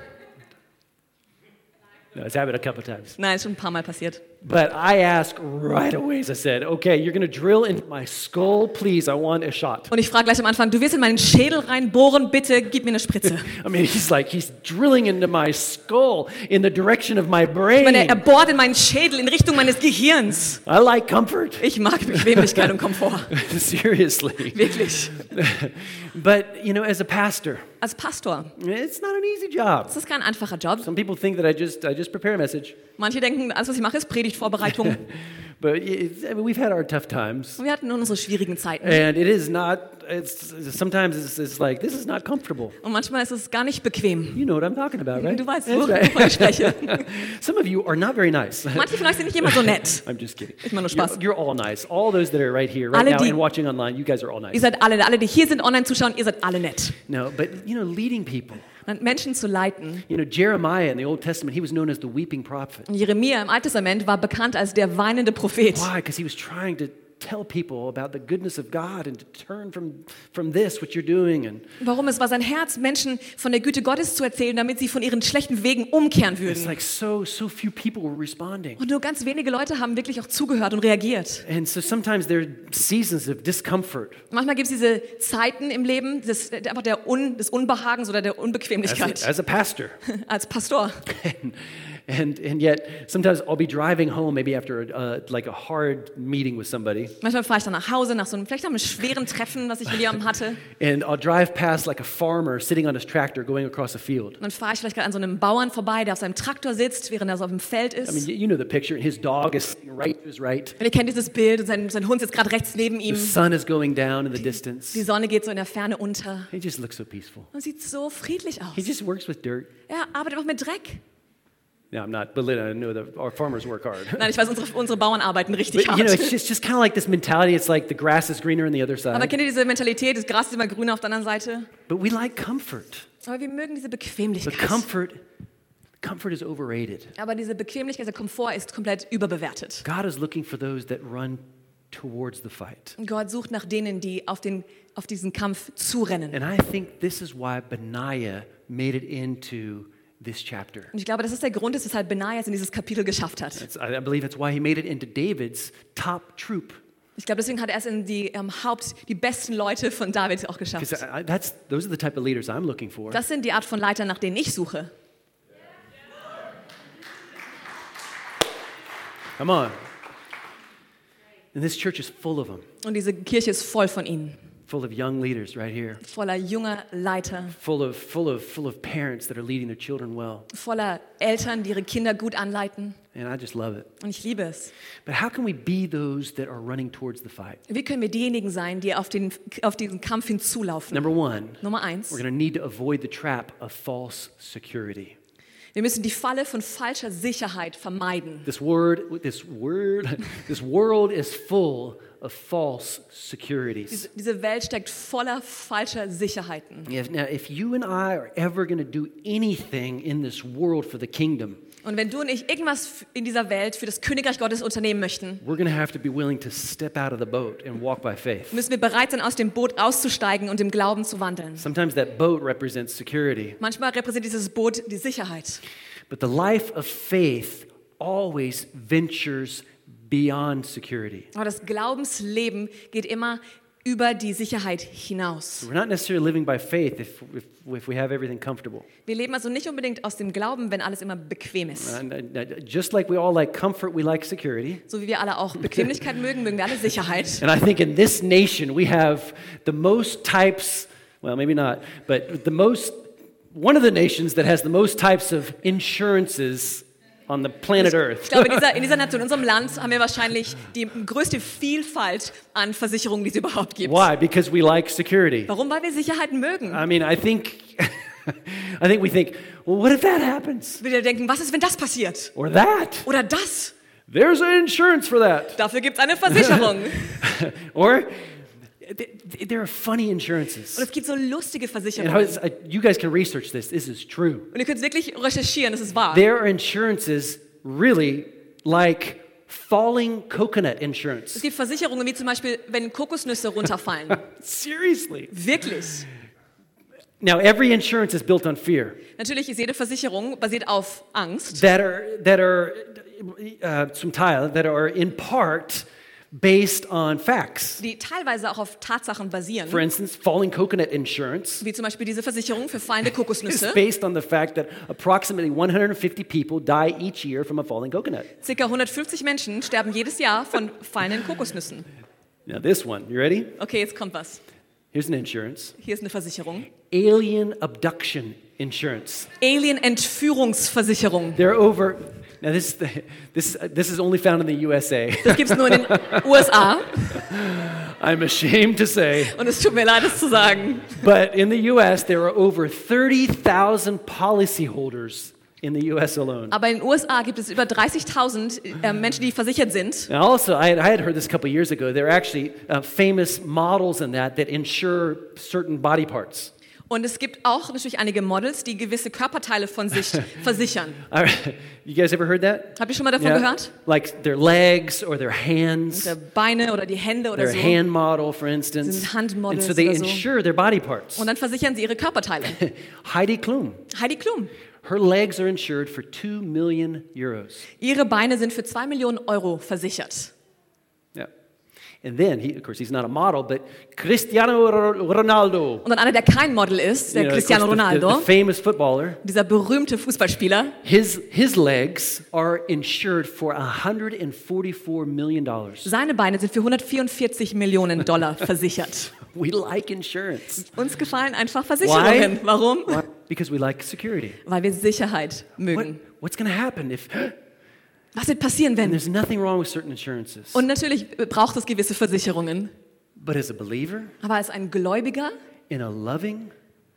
S1: No, it's happened a couple times.
S2: Nein, ist schon ein paar Mal passiert.
S1: But I asked right away, as I said, okay, you're going to drill into my skull, please, I want a shot.
S2: Und ich frage gleich am Anfang, du willst in meinen Schädel reinbohren, bitte gib mir eine Spritze.
S1: I mean, he's like, he's drilling into my skull in the direction of my
S2: Ich meine, er
S1: brain.
S2: bohrt in meinen Schädel in Richtung meines Gehirns.
S1: I like comfort.
S2: Ich mag Bequemlichkeit und Komfort.
S1: Seriously.
S2: Wirklich.
S1: But, you know, as a pastor,
S2: Als Pastor,
S1: it's not an easy job.
S2: das ist kein einfacher Job.
S1: Some people think that I just, I just prepare a message.
S2: Manche denken, alles, was ich mache, ist Predigtvorbereitung.
S1: But it's, I mean, we've had our tough times.
S2: Und wir hatten unsere schwierigen Zeiten.
S1: And it is not, it's, sometimes it's, it's like, this is not comfortable.
S2: Und manchmal ist es gar nicht bequem.
S1: You know what I'm talking about, right?
S2: Du weißt,
S1: That's
S2: wovon ich spreche.
S1: Some of you are not very nice.
S2: Manche von euch sind nicht immer so nett.
S1: I'm just kidding.
S2: Ich mach nur Spaß.
S1: You're, you're all nice. All those that are right here, right
S2: Alle,
S1: now,
S2: die-
S1: and watching online, you guys are all
S2: Ihr
S1: nice.
S2: seid alle, alle, die hier sind, online zuschauen, ihr seid alle nett.
S1: No, but, you know, leading people.
S2: Und Menschen zu leiten.
S1: You know, Jeremiah in the Old Testament, he was known as the weeping prophet.
S2: Und Jeremia im Alten Testament war bekannt als der weinende Prophet.
S1: Why? Because he was trying to tell people about the goodness of God and to turn from, from this, what you're doing. And
S2: Warum? Es war sein Herz, Menschen von der Güte Gottes zu erzählen, damit sie von ihren schlechten Wegen umkehren
S1: it's
S2: würden.
S1: like so, so few people were responding.
S2: Und nur ganz wenige Leute haben wirklich auch zugehört und reagiert.
S1: And so sometimes there are seasons of discomfort.
S2: Manchmal gibt es diese Zeiten im Leben des, einfach der Un, des Unbehagens oder der
S1: As
S2: Unbequemlichkeit
S1: a, as a pastor.
S2: als Pastor.
S1: and, and and yet sometimes I'll be driving home maybe after a, uh, like a hard meeting with somebody,
S2: Manchmal fahre ich dann nach Hause nach so einem, vielleicht nach einem schweren Treffen, was ich mit jemandem hatte.
S1: and I'll drive past like a farmer sitting on his tractor going across a field.
S2: Und dann fahre ich vielleicht gerade an so einem Bauern vorbei, der auf seinem Traktor sitzt, während er so auf dem Feld
S1: I mean,
S2: ist.
S1: you, you know the picture. His dog is sitting right to his right.
S2: Und ihr kennt dieses Bild und sein, sein Hund sitzt gerade rechts neben ihm.
S1: The sun is going down in the distance.
S2: Die Sonne geht so in der Ferne unter.
S1: He just looks so peaceful.
S2: Und sieht so friedlich
S1: He
S2: aus.
S1: just works with dirt.
S2: Er arbeitet einfach mit Dreck.
S1: No, I'm not belittling. I know that our farmers work hard.
S2: Nein, ich weiß, unsere, unsere Bauern arbeiten richtig
S1: But, you know, it's
S2: hart.
S1: just, just kind of like this mentality. It's like the grass is greener on the other
S2: Aber
S1: side.
S2: kennt ihr diese Mentalität, das Gras ist immer grüner auf der anderen Seite?
S1: But we like comfort.
S2: Aber wir mögen diese
S1: But
S2: Bequemlichkeit.
S1: comfort, comfort is overrated.
S2: Aber diese Bequemlichkeit, der Komfort ist komplett überbewertet.
S1: God is looking for those that run towards the fight.
S2: Und Gott sucht nach denen, die auf, den, auf diesen Kampf zurennen.
S1: And I think this is why Benaiah made it into this chapter.
S2: Und ich glaube, das ist der Grund, weshalb Benaja es in dieses Kapitel geschafft hat.
S1: It's, I I believe that's why he made it into David's top troop.
S2: Ich glaube, deswegen hat er es in die ähm, Haupt, die besten Leute von David auch geschafft.
S1: Because I, I- that's, those are the type of leaders I'm looking for.
S2: Das sind die Art von Leitern, nach denen ich suche.
S1: Come on. And this church is full of them,
S2: Und diese Kirche ist voll von ihnen.
S1: full of young leaders right here,
S2: Voller junger Leiter,
S1: full of, full of, full of parents that are leading their children well.
S2: voller Eltern, die ihre Kinder gut anleiten.
S1: And I just love it.
S2: Und ich liebe es.
S1: But how can we be those that are running towards the fight?
S2: Wie können wir diejenigen sein, die auf, den, auf diesen Kampf hinzulaufen?
S1: Number one,
S2: Nummer eins,
S1: we're going to need to avoid the trap of false security.
S2: wir müssen die Falle von falscher Sicherheit vermeiden.
S1: This word, this word, this world is full of false securities.
S2: Diese, diese Welt steckt voller falscher Sicherheiten.
S1: If, now, if you and I are ever going to do anything in this world for the kingdom,
S2: Und wenn du und ich irgendwas in dieser Welt für das Königreich Gottes unternehmen möchten,
S1: we're going to have to be willing to step out of the boat and walk by faith.
S2: müssen wir bereit sein, aus dem Boot auszusteigen und im Glauben zu wandeln.
S1: Sometimes that boat represents security,
S2: Manchmal repräsentiert dieses Boot die Sicherheit.
S1: but the life of faith always ventures beyond security.
S2: Aber das Glaubensleben geht immer über die Sicherheit hinaus.
S1: We're not necessarily living by faith if, if, if we have everything comfortable.
S2: Wir leben also nicht unbedingt aus dem Glauben, wenn alles immer bequem ist.
S1: And, uh, just like we all like comfort, we like security.
S2: So wie wir alle auch Bequemlichkeit mögen, mögen wir alle Sicherheit.
S1: And I think in this nation we have the most types, well, maybe not, but the most, one of the nations that has the most types of insurances on the planet Earth.
S2: Ich glaube, in dieser, in dieser Nation, in unserem Land, haben wir wahrscheinlich die größte Vielfalt an Versicherungen, die es überhaupt gibt.
S1: Why? Because we like security.
S2: Warum? Weil wir Sicherheiten mögen.
S1: I mean, I think, I think we think, well, what if that happens?
S2: Wir denken, was ist, wenn das passiert?
S1: Or that?
S2: Oder das?
S1: There's an insurance for that.
S2: Dafür gibt es eine Versicherung.
S1: Or th- there are funny insurances.
S2: Und es gibt so lustige
S1: And
S2: Versicherungen.
S1: how is- uh, you guys can research this. This is true.
S2: Und ihr könnt wirklich recherchieren, das ist wahr.
S1: There are insurances really like falling coconut
S2: Es
S1: insurance.
S2: gibt Versicherungen, wie zum Beispiel, wenn Kokosnüsse runterfallen.
S1: Seriously.
S2: Wirklich.
S1: Now, every insurance is built on fear.
S2: Natürlich ist jede Versicherung basiert auf Angst.
S1: That are that are uh, zum Teil that are in part based on facts.
S2: Die teilweise auch auf Tatsachen
S1: For
S2: basieren.
S1: instance, falling coconut insurance
S2: Wie zum Beispiel diese Versicherung für fallende
S1: is
S2: Kokosnüsse.
S1: based on the fact that approximately one hundred fifty people die each year from a falling coconut.
S2: Circa hundertfünfzig Menschen sterben jedes Jahr von fallenden Kokosnüssen.
S1: Now, this one, you ready?
S2: Okay, jetzt kommt was.
S1: Here's an insurance.
S2: Hier ist eine Versicherung.
S1: Alien abduction insurance.
S2: Alien-Entführungsversicherung.
S1: They're over. Now, this this this is only found in the U S A.
S2: Das gibt es nur in den U S A.
S1: I'm ashamed to say,
S2: Und es tut mir leid, das zu sagen.
S1: but in the U S there are over thirty thousand policyholders in the U S alone.
S2: Aber in den U S A gibt es über dreißigtausend äh, Menschen, die versichert sind.
S1: And also, I had, I had heard this a couple years ago. There are actually uh, famous models in that that insure certain body parts.
S2: Und es gibt auch natürlich einige Models, die gewisse Körperteile von sich versichern.
S1: All right. You guys ever heard that?
S2: Habt ihr schon mal davon gehört?
S1: Like their legs or their hands.
S2: Die Beine oder die Hände oder
S1: Their
S2: so.
S1: hand model, for instance.
S2: Sind Handmodels
S1: And so they
S2: oder so.
S1: insure their body parts.
S2: Und dann versichern sie ihre Körperteile.
S1: Heidi Klum.
S2: Heidi Klum.
S1: Her legs are insured for two million euros.
S2: Ihre Beine sind für zwei Millionen Euro versichert.
S1: Yeah. And then, he, of course, he's not a model, but Cristiano Ronaldo.
S2: Und dann einer, der kein Model ist, der
S1: You know, of
S2: Cristiano
S1: course, the-
S2: Ronaldo,
S1: the, the famous footballer.
S2: dieser berühmte Fußballspieler,
S1: His, his legs are insured for one hundred forty-four million dollars.
S2: seine Beine sind für hundertvierundvierzig Millionen Dollar versichert.
S1: We like insurance.
S2: Uns gefallen einfach Versicherungen. Warum?
S1: Why? Because we like security.
S2: Weil wir Sicherheit
S1: What,
S2: mögen.
S1: what's going to happen if
S2: Was wird passieren,
S1: and
S2: wenn?
S1: there's nothing wrong with certain insurances?
S2: Und natürlich braucht es gewisse Versicherungen.
S1: But as a believer
S2: Aber als ein Gläubiger,
S1: in a loving,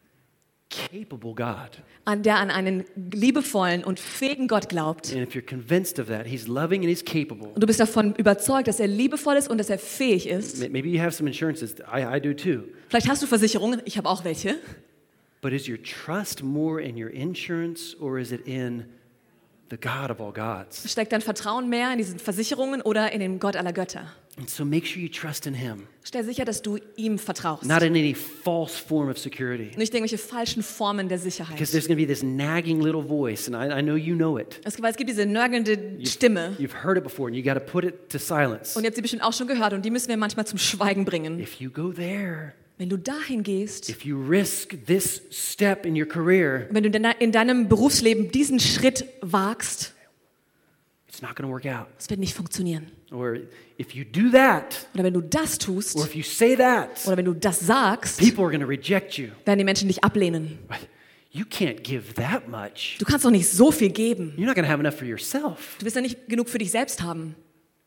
S1: capable God,
S2: an der an einen liebevollen und fähigen Gott glaubt,
S1: and if you're convinced of that, He's loving and He's capable.
S2: und du bist davon überzeugt, dass er liebevoll ist und dass er fähig ist,
S1: May- Maybe you have some insurances. I, I do too.
S2: vielleicht hast du Versicherungen, ich habe auch welche,
S1: But is your trust more in your insurance or is it in the God of all gods?
S2: steckt dein Vertrauen mehr in diesen Versicherungen oder in den Gott aller Götter?
S1: And so make sure you trust in Him,
S2: Stell sicher, dass du ihm vertraust.
S1: not in any false form of security.
S2: Nicht irgendwelche falschen Formen der Sicherheit.
S1: Because there's going to be this nagging little voice, and I, I know you know it.
S2: Es, weil es gibt diese nörgelnde Stimme.
S1: You've heard it before, and you got to put it to silence.
S2: Und ihr habt sie bestimmt auch schon gehört und die müssen wir manchmal zum Schweigen bringen.
S1: If you go there,
S2: Wenn du dahin gehst,
S1: if you risk this step in your career,
S2: wenn du in de- in deinem Berufsleben diesen Schritt wagst,
S1: it's not going to work out.
S2: es wird nicht funktionieren.
S1: Or if you do that,
S2: Oder wenn du das tust,
S1: or if you say that,
S2: oder wenn du das sagst,
S1: people are going to reject you.
S2: werden die Menschen dich ablehnen.
S1: You can't give that much.
S2: Du kannst doch nicht so viel geben.
S1: You're not going to have enough for yourself.
S2: Du wirst ja nicht genug für dich selbst haben.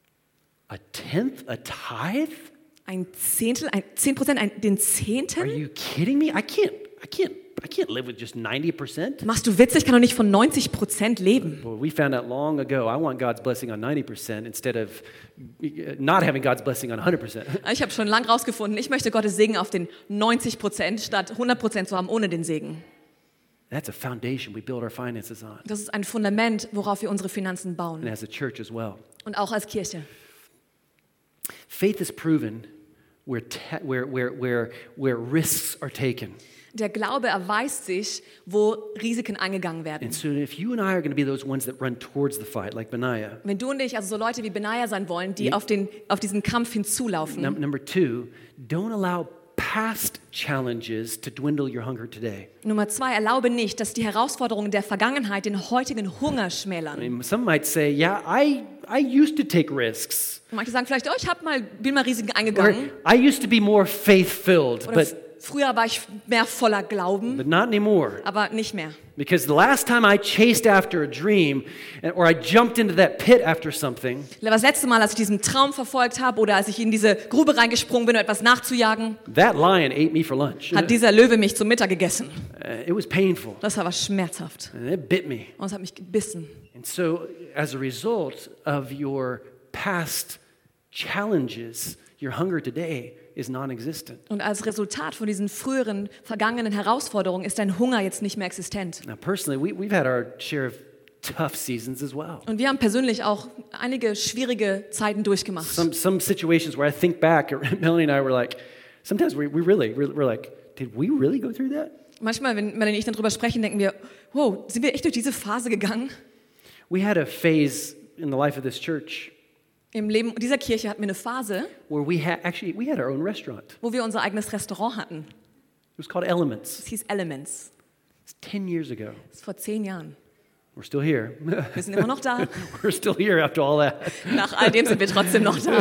S1: A tenth, a tithe?
S2: Ein Zehntel, ein, zehn Prozent, ein, den
S1: Are
S2: Zehnten?
S1: you kidding me? I can't. I can't. I can't live with just ninety percent.
S2: Machst du Witze? Ich kann doch nicht von neunzig Prozent leben.
S1: Well, we found out long ago. I want God's blessing on ninety percent instead of uh, not having God's blessing on one hundred percent.
S2: Ich habe schon lange rausgefunden, ich möchte Gottes Segen auf den neunzig Prozent statt hundert Prozent zu haben ohne den Segen.
S1: That's a foundation we build our finances on,
S2: Das ist ein Fundament, worauf wir unsere Finanzen
S1: and
S2: bauen.
S1: as a church as well.
S2: Und auch als Kirche.
S1: Faith is proven where, te- where, where, where, where risks are taken.
S2: Der Glaube erweist sich, wo Risiken eingegangen werden.
S1: And so if you and I are going to be those ones that run towards the fight, like Benaiah,
S2: Wenn du und ich, also so Leute wie Benaja sein wollen, die auf, den, auf diesen Kampf hinzulaufen.
S1: num- number two, don't allow past challenges to dwindle your hunger today.
S2: Nummer zwei, erlaube nicht, dass die Herausforderungen der Vergangenheit den heutigen Hunger
S1: I
S2: schmälern.
S1: mean, some might say, yeah, I, I used to take risks.
S2: Und manche sagen vielleicht, oh, ich hab mal, bin mal Risiken
S1: Or
S2: eingegangen.
S1: I used to be more faith-filled,
S2: Oder
S1: but,
S2: f- früher war ich mehr voller Glauben,
S1: but not anymore.
S2: aber nicht mehr.
S1: Because the last time I chased after a dream, and- or I jumped into that pit after something,
S2: Das letzte Mal, als ich diesen Traum verfolgt habe oder als ich in diese Grube reingesprungen bin, um etwas nachzujagen,
S1: that lion ate me for lunch.
S2: hat dieser Löwe mich zum Mittag gegessen.
S1: Uh, it was painful,
S2: Das war was schmerzhaft.
S1: and it bit me.
S2: Und es hat mich gebissen.
S1: And so, as a result of your past challenges, your hunger today is non-existent.
S2: Und als Resultat von diesen früheren, vergangenen Herausforderungen ist dein Hunger jetzt nicht mehr existent.
S1: Now, personally, we, we've had our share of tough seasons as well.
S2: Und wir haben persönlich auch einige schwierige Zeiten durchgemacht.
S1: Some some situations where I think back, Melanie and I were like, sometimes we, we really, we're, we're like, did we really go through that?
S2: Manchmal, wenn Melanie und ich dann drüber sprechen, denken wir, wow, sind wir echt durch diese Phase gegangen?
S1: We had a phase in the life of this church
S2: Im Leben dieser Kirche hatten wir eine Phase,
S1: where we had actually we had our own restaurant.
S2: wo wir unser eigenes Restaurant hatten.
S1: It was called Elements.
S2: Es hieß Elements.
S1: It's ten years ago.
S2: Das ist vor zehn Jahren.
S1: We're still here.
S2: Wir sind immer noch da.
S1: We're still here after all that.
S2: Nach all dem sind wir trotzdem noch da.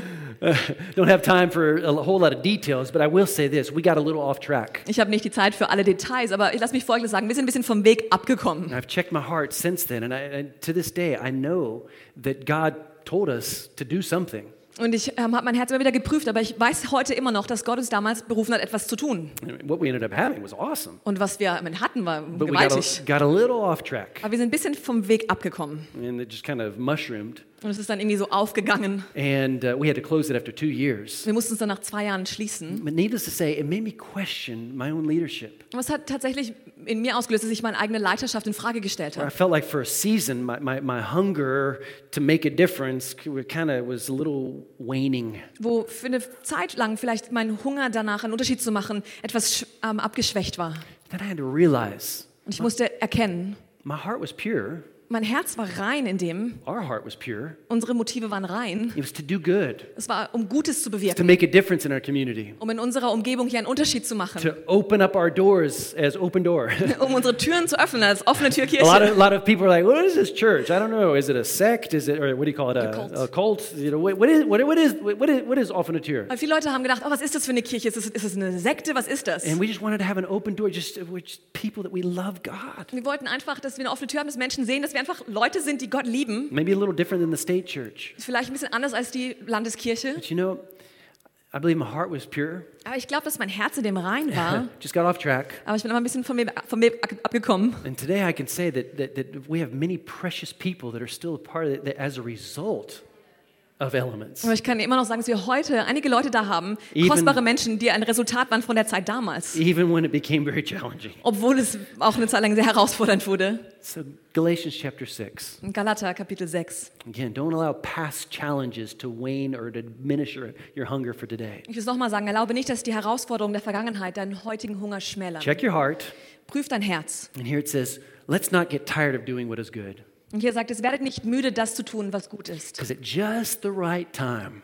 S1: Don't have time for a whole lot of details, but I will say this: we got a little off track.
S2: Ich habe nicht die Zeit für alle Details, aber lass mich Folgendes sagen. Wir sind ein bisschen vom Weg abgekommen.
S1: And I've checked my heart since then, and, I, and to this day, I know that God told us to do something.
S2: Und ich ähm, habe mein Herz immer wieder geprüft, aber ich weiß heute immer noch, dass Gott uns damals berufen hat, etwas zu tun.
S1: And what we ended up having was awesome,
S2: Und was wir hatten, war
S1: but we got
S2: gewaltig.
S1: a, got a little off track,
S2: Aber wir sind ein bisschen vom Weg abgekommen.
S1: and it just kind of mushroomed.
S2: Und es ist dann irgendwie so aufgegangen.
S1: And uh, we had to close it after two years.
S2: Wir mussten es dann nach zwei Jahren schließen.
S1: But needless to say, it made me question my own leadership.
S2: Und es hat tatsächlich in mir ausgelöst, dass ich meine eigene Leiterschaft in Frage gestellt
S1: Where I
S2: habe.
S1: felt like for a season, my, my, my hunger to make a difference kind of was a little waning.
S2: Wo für eine Zeit lang vielleicht mein Hunger danach, einen Unterschied zu machen, etwas ähm, abgeschwächt war.
S1: Then I had to realize
S2: Und ich musste erkennen,
S1: my heart was pure.
S2: mein Herz war rein in dem,
S1: Our heart was pure.
S2: unsere Motive waren rein.
S1: It was to do good,
S2: Es war, um Gutes zu
S1: to
S2: bewirken,
S1: make a difference in our community,
S2: um in unserer Umgebung hier einen Unterschied zu machen,
S1: to open up our doors as open door.
S2: um unsere Türen zu öffnen als offene
S1: A lot of,
S2: Türkirche.
S1: lot of people are like, what is this church? I don't know. Is it a sect? Is it, or what do you call it? A,
S2: A cult.
S1: a cult? You know, what, what is, what, what is, what is, what is offene Tür?
S2: Weil viele Leute haben gedacht, oh, was ist das für eine Kirche? Ist es, ist es eine Sekte? Was ist das?
S1: And we just wanted to have an open door, just we're just people that we love God.
S2: Wir wollten einfach, dass wir eine offene Tür haben, dass Menschen sehen, dass wir einfach Leute sind, die Gott lieben.
S1: Maybe a little different than the state church.
S2: Ist vielleicht ein bisschen anders als die Landeskirche.
S1: But you know, I believe my heart was pure.
S2: Aber ich glaube, dass mein Herz in dem rein war.
S1: Just got off track.
S2: Aber ich bin immer ein bisschen von mir, von mir abgekommen.
S1: And today I can say that, that, that we have many precious people that are still a part of it that as a result of Elements.
S2: Aber ich kann immer noch sagen, dass wir heute einige Leute da haben,
S1: Even-
S2: kostbare Menschen, die ein Resultat waren von der Zeit damals.
S1: Even when it became very challenging.
S2: Obwohl es auch eine Zeit lang sehr herausfordernd wurde.
S1: So Galatians chapter six.
S2: In Galater Kapitel sechs.
S1: Again, don't allow past challenges to wane or to diminish your, your hunger for today.
S2: Ich will es nochmal sagen, erlaube nicht, dass die Herausforderungen der Vergangenheit deinen heutigen Hunger schmälern.
S1: Check your heart.
S2: Prüf dein Herz.
S1: And here it says, let's not get tired of doing what is good.
S2: Und hier sagt es, werdet nicht müde, das zu tun, was gut ist.
S1: Because at just the right time,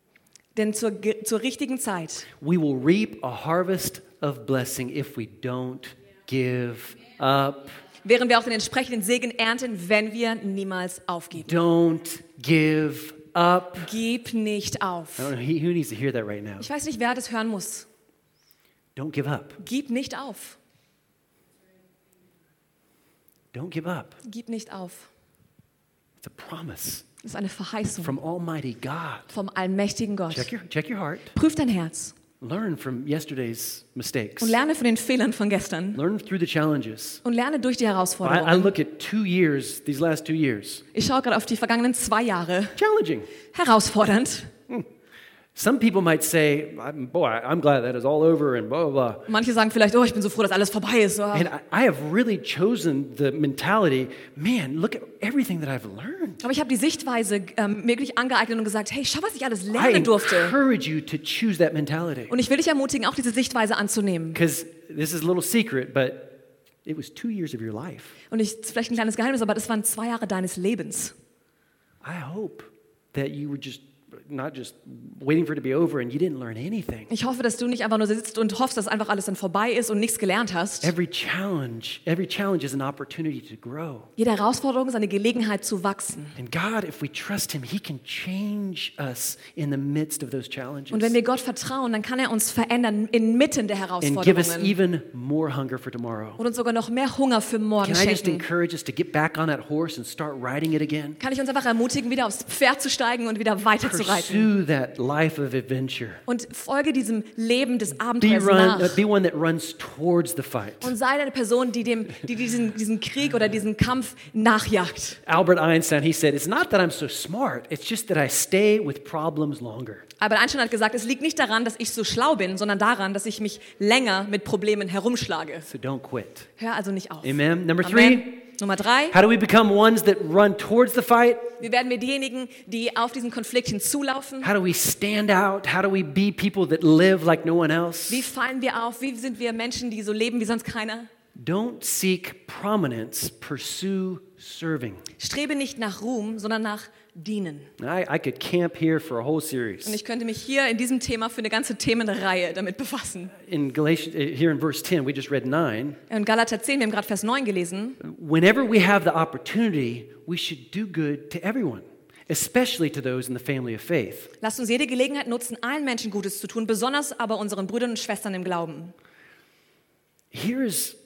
S2: Denn zur, ge- zur richtigen Zeit
S1: we will reap a harvest of blessing if we don't give up.
S2: werden wir auch den entsprechenden Segen ernten, wenn wir niemals aufgeben.
S1: Don't give up.
S2: Gib nicht auf.
S1: I don't know, he- who needs to hear that right now?
S2: Ich weiß nicht, wer das hören muss.
S1: Don't give up.
S2: Gib nicht auf.
S1: Don't give up.
S2: Gib nicht auf.
S1: It's a promise
S2: Das ist eine Verheißung
S1: from Almighty God.
S2: vom allmächtigen Gott.
S1: Check your, check your heart.
S2: Prüf dein Herz
S1: Learn from yesterday's mistakes.
S2: und lerne von den Fehlern von gestern
S1: Learn through the challenges.
S2: und lerne durch die
S1: I, I
S2: Herausforderungen.
S1: look at two years, these last two years.
S2: Ich schaue gerade auf die vergangenen zwei Jahre.
S1: Challenging.
S2: Herausfordernd.
S1: Some people might say, I'm, boy, I'm glad that is all over and blah, blah, blah.
S2: Manche sagen vielleicht, oh, ich bin so froh, dass alles vorbei ist. Oh.
S1: And I, I have really chosen the mentality, man, look at everything that I've learned.
S2: Aber ich habe die Sichtweise ähm, mir wirklich angeeignet und gesagt, hey, schau, was ich alles
S1: I
S2: lernen durfte.
S1: encourage you to choose that mentality.
S2: Und ich will dich ermutigen, auch diese Sichtweise anzunehmen.
S1: Because this is a little secret, but it was two years of your life.
S2: Und ich, das ist vielleicht ein kleines Geheimnis, aber das waren zwei Jahre deines Lebens.
S1: I hope that you were just not just waiting for it to be over and you didn't learn anything.
S2: Ich hoffe, dass du nicht einfach nur sitzt und hoffst, dass einfach alles dann vorbei ist und nichts gelernt hast.
S1: Every challenge, every challenge is an opportunity to grow.
S2: Jede Herausforderung ist eine Gelegenheit zu wachsen.
S1: And God, if we trust Him, He can change us in the midst of those challenges
S2: Und wenn wir Gott vertrauen, dann kann er uns verändern inmitten der
S1: and give us
S2: Herausforderungen
S1: even more hunger for tomorrow.
S2: und uns sogar noch mehr Hunger für morgen
S1: Can I just
S2: schenken.
S1: encourage us to get back on that horse and start riding it again?
S2: Kann ich uns einfach ermutigen, wieder aufs Pferd zu steigen und wieder weiterzureiten.
S1: Pursue that life of adventure.
S2: Und folge diesem Leben des
S1: Be,
S2: Abenteuers
S1: run, uh,
S2: nach.
S1: be one that runs towards the fight.
S2: Und sei eine Person, die, dem, die diesen, diesen Krieg oder diesen Kampf nachjagt.
S1: Albert Einstein, he said, it's not that I'm so smart, it's just that I stay with problems longer.
S2: Albert Einstein hat gesagt, es liegt nicht daran, dass ich so schlau bin, sondern daran, dass ich mich länger mit Problemen herumschlage.
S1: So don't quit.
S2: Hör also nicht auf.
S1: Amen. Number three,
S2: Amen. Nummer drei.
S1: how do we become ones that run towards the fight?
S2: Wie werden wir diejenigen, die auf diesen Konflikt hinzulaufen?
S1: How do we stand out? How do we be people that live like no one else?
S2: Wie fallen wir auf? Wie sind wir Menschen, die so leben wie sonst keiner?
S1: Don't seek prominence, pursue serving.
S2: Strebe nicht nach Ruhm, sondern nach Dienen.
S1: I, I could camp here for a whole series.
S2: Und ich könnte mich hier in diesem Thema für eine ganze Themenreihe damit befassen.
S1: In Galatians, uh, here in verse ten, we just read nine.
S2: In Galater zehn, wir haben gerade Vers neun gelesen.
S1: Whenever we have the opportunity, we should do good to everyone, especially to those in the family of faith.
S2: Lasst uns jede Gelegenheit nutzen, allen Menschen Gutes zu tun, besonders aber unseren Brüdern und Schwestern im Glauben.
S1: Here's,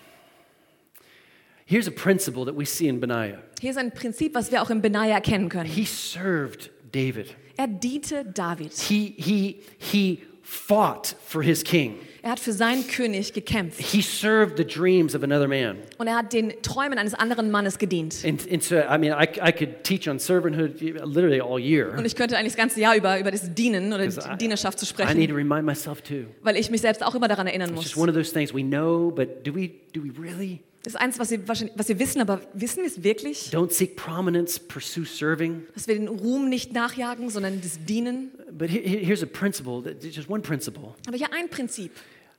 S1: here's a principle that we see in Benaiah.
S2: Hier ist ein Prinzip, was wir auch in Benaja erkennen können.
S1: He served David.
S2: Er diente David.
S1: He, he, he fought for his king.
S2: Er hat für seinen König gekämpft.
S1: He served the dreams of another man.
S2: Und er hat den Träumen eines anderen Mannes gedient.
S1: And, and so, I mean, I, I could teach on servanthood literally all year.
S2: Und ich könnte eigentlich das ganze Jahr über über das Dienen oder die
S1: I,
S2: Dienerschaft zu
S1: I need
S2: sprechen,
S1: to remind myself too.
S2: weil ich mich selbst auch immer daran erinnern
S1: It's
S2: muss.
S1: just one of those things we know, but do we, do we really?
S2: Das ist eins, was wir, wahrscheinlich- was wir wissen, aber wissen wir es wirklich?
S1: Don't seek prominence, pursue serving.
S2: Dass wir den Ruhm nicht nachjagen, sondern das Dienen.
S1: But here, here- here's a principle, that- just one principle.
S2: Aber hier ein Prinzip.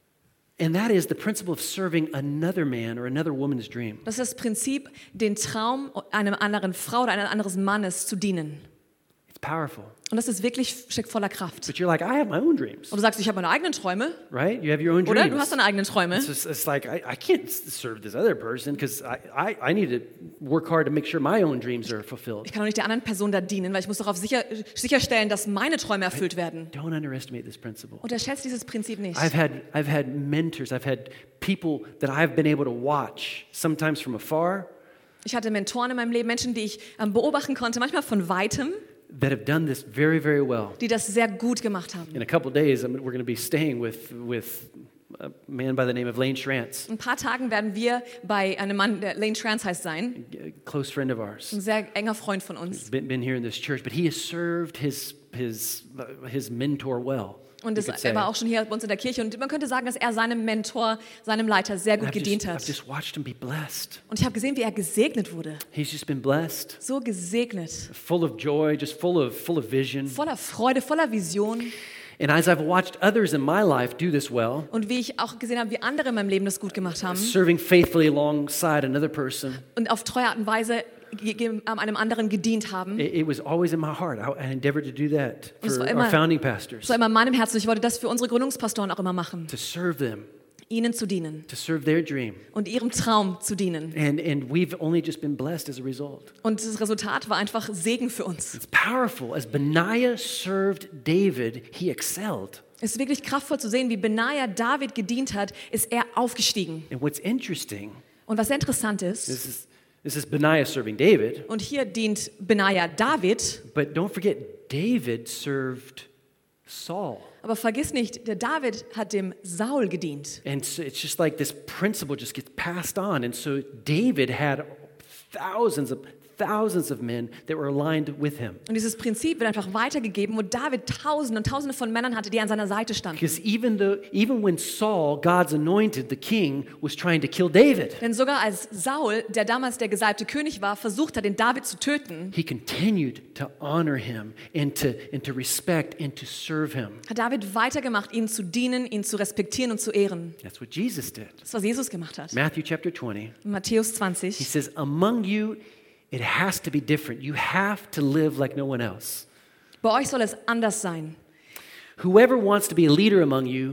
S1: And that is the principle of serving another man or another woman's dream.
S2: Das ist das Prinzip, den Traum einer anderen Frau oder eines anderen Mannes zu dienen.
S1: It's powerful.
S2: Und das ist wirklich steckt voller Kraft.
S1: But you're like, I have my own dreams,
S2: Und du sagst, ich habe meine eigenen Träume,
S1: right? You have your own
S2: oder?
S1: dreams.
S2: Du hast deine eigenen Träume.
S1: It's, just, it's like, I, I can't s- serve this other person because I, I, I need to work hard to make sure my own dreams are fulfilled.
S2: Ich kann doch nicht der anderen Person da dienen, weil ich muss darauf sicher, sicherstellen, dass meine Träume erfüllt werden.
S1: Don't underestimate this principle.
S2: Unterschätzt dieses Prinzip nicht.
S1: I've had, I've had mentors, I've had people that I've been able to watch, sometimes from afar,
S2: Ich hatte Mentoren in meinem Leben, Menschen, die ich ähm, beobachten konnte, manchmal von Weitem,
S1: that have done this very, very well.
S2: die das sehr gut gemacht haben.
S1: In a couple of days, I'm, we're going to be staying with, with a man by the name of Lane Schrantz,
S2: In ein paar Tagen werden wir bei einem Mann, der Lane Trans heißt, sein.
S1: a close friend of ours.
S2: Ein sehr enger Freund von uns.
S1: Been, been here in this church, but he has served his, his, uh, his mentor well.
S2: Und
S1: you
S2: das,
S1: could say.
S2: er war auch schon hier bei uns in der Kirche. Und man könnte sagen, dass er seinem Mentor, seinem Leiter sehr gut
S1: I've
S2: gedient
S1: just, I've
S2: hat.
S1: just watched him be blessed.
S2: Und ich habe gesehen, wie er gesegnet wurde.
S1: He's just been blessed,
S2: So gesegnet.
S1: full of joy, just full of, full of vision.
S2: Voller Freude, voller Vision.
S1: And as I've watched others in my life do this well,
S2: Und wie ich auch gesehen habe, wie andere in meinem Leben das gut gemacht haben.
S1: serving faithfully alongside another person,
S2: Und auf treue Art und Weise ge- ge- einem anderen gedient haben.
S1: it, it was always in my heart. I, I endeavored to do that
S2: Und es
S1: for
S2: war
S1: our
S2: immer-
S1: founding pastors,
S2: Das war immer in meinem Herzen. Ich wollte das für unsere Gründungspastoren auch immer machen.
S1: to serve them,
S2: Ihnen zu dienen
S1: to serve their dream.
S2: und ihrem Traum zu dienen.
S1: And, and we've only just been blessed as a result.
S2: Und das Resultat war einfach Segen für uns.
S1: It's powerful. As Benaiah served David, he excelled.
S2: Es ist wirklich kraftvoll zu sehen, wie Benaja David gedient hat, ist er aufgestiegen.
S1: And what's interesting,
S2: Und was sehr interessant ist,
S1: this is, this is Benaiah serving David,
S2: und hier dient Benaja David,
S1: but don't forget, David served Saul.
S2: aber vergiss nicht, der David hat dem Saul gedient.
S1: And so it's just like this principle just gets passed on. And so David had thousands of thousands of men that were aligned with him.
S2: Und dieses Prinzip wird einfach weitergegeben, wo David Tausende und Tausende von Männern hatte, die an seiner Seite standen.
S1: Because even though even when Saul, God's anointed, the king, was trying to kill David,
S2: Denn sogar als Saul, der damals der gesalbte König war, versucht hat, den David zu töten,
S1: he continued to honor him and to and to respect and to serve him.
S2: hat David weitergemacht, ihn zu dienen, ihn zu respektieren und zu ehren.
S1: That's what Jesus did.
S2: Das, was Jesus gemacht hat.
S1: Matthew chapter twenty.
S2: In Matthäus
S1: He
S2: zwanzig.
S1: says, "Among you it has to be different. You have to live like no one else.
S2: Bei euch soll es anders sein.
S1: Whoever wants to be a leader among you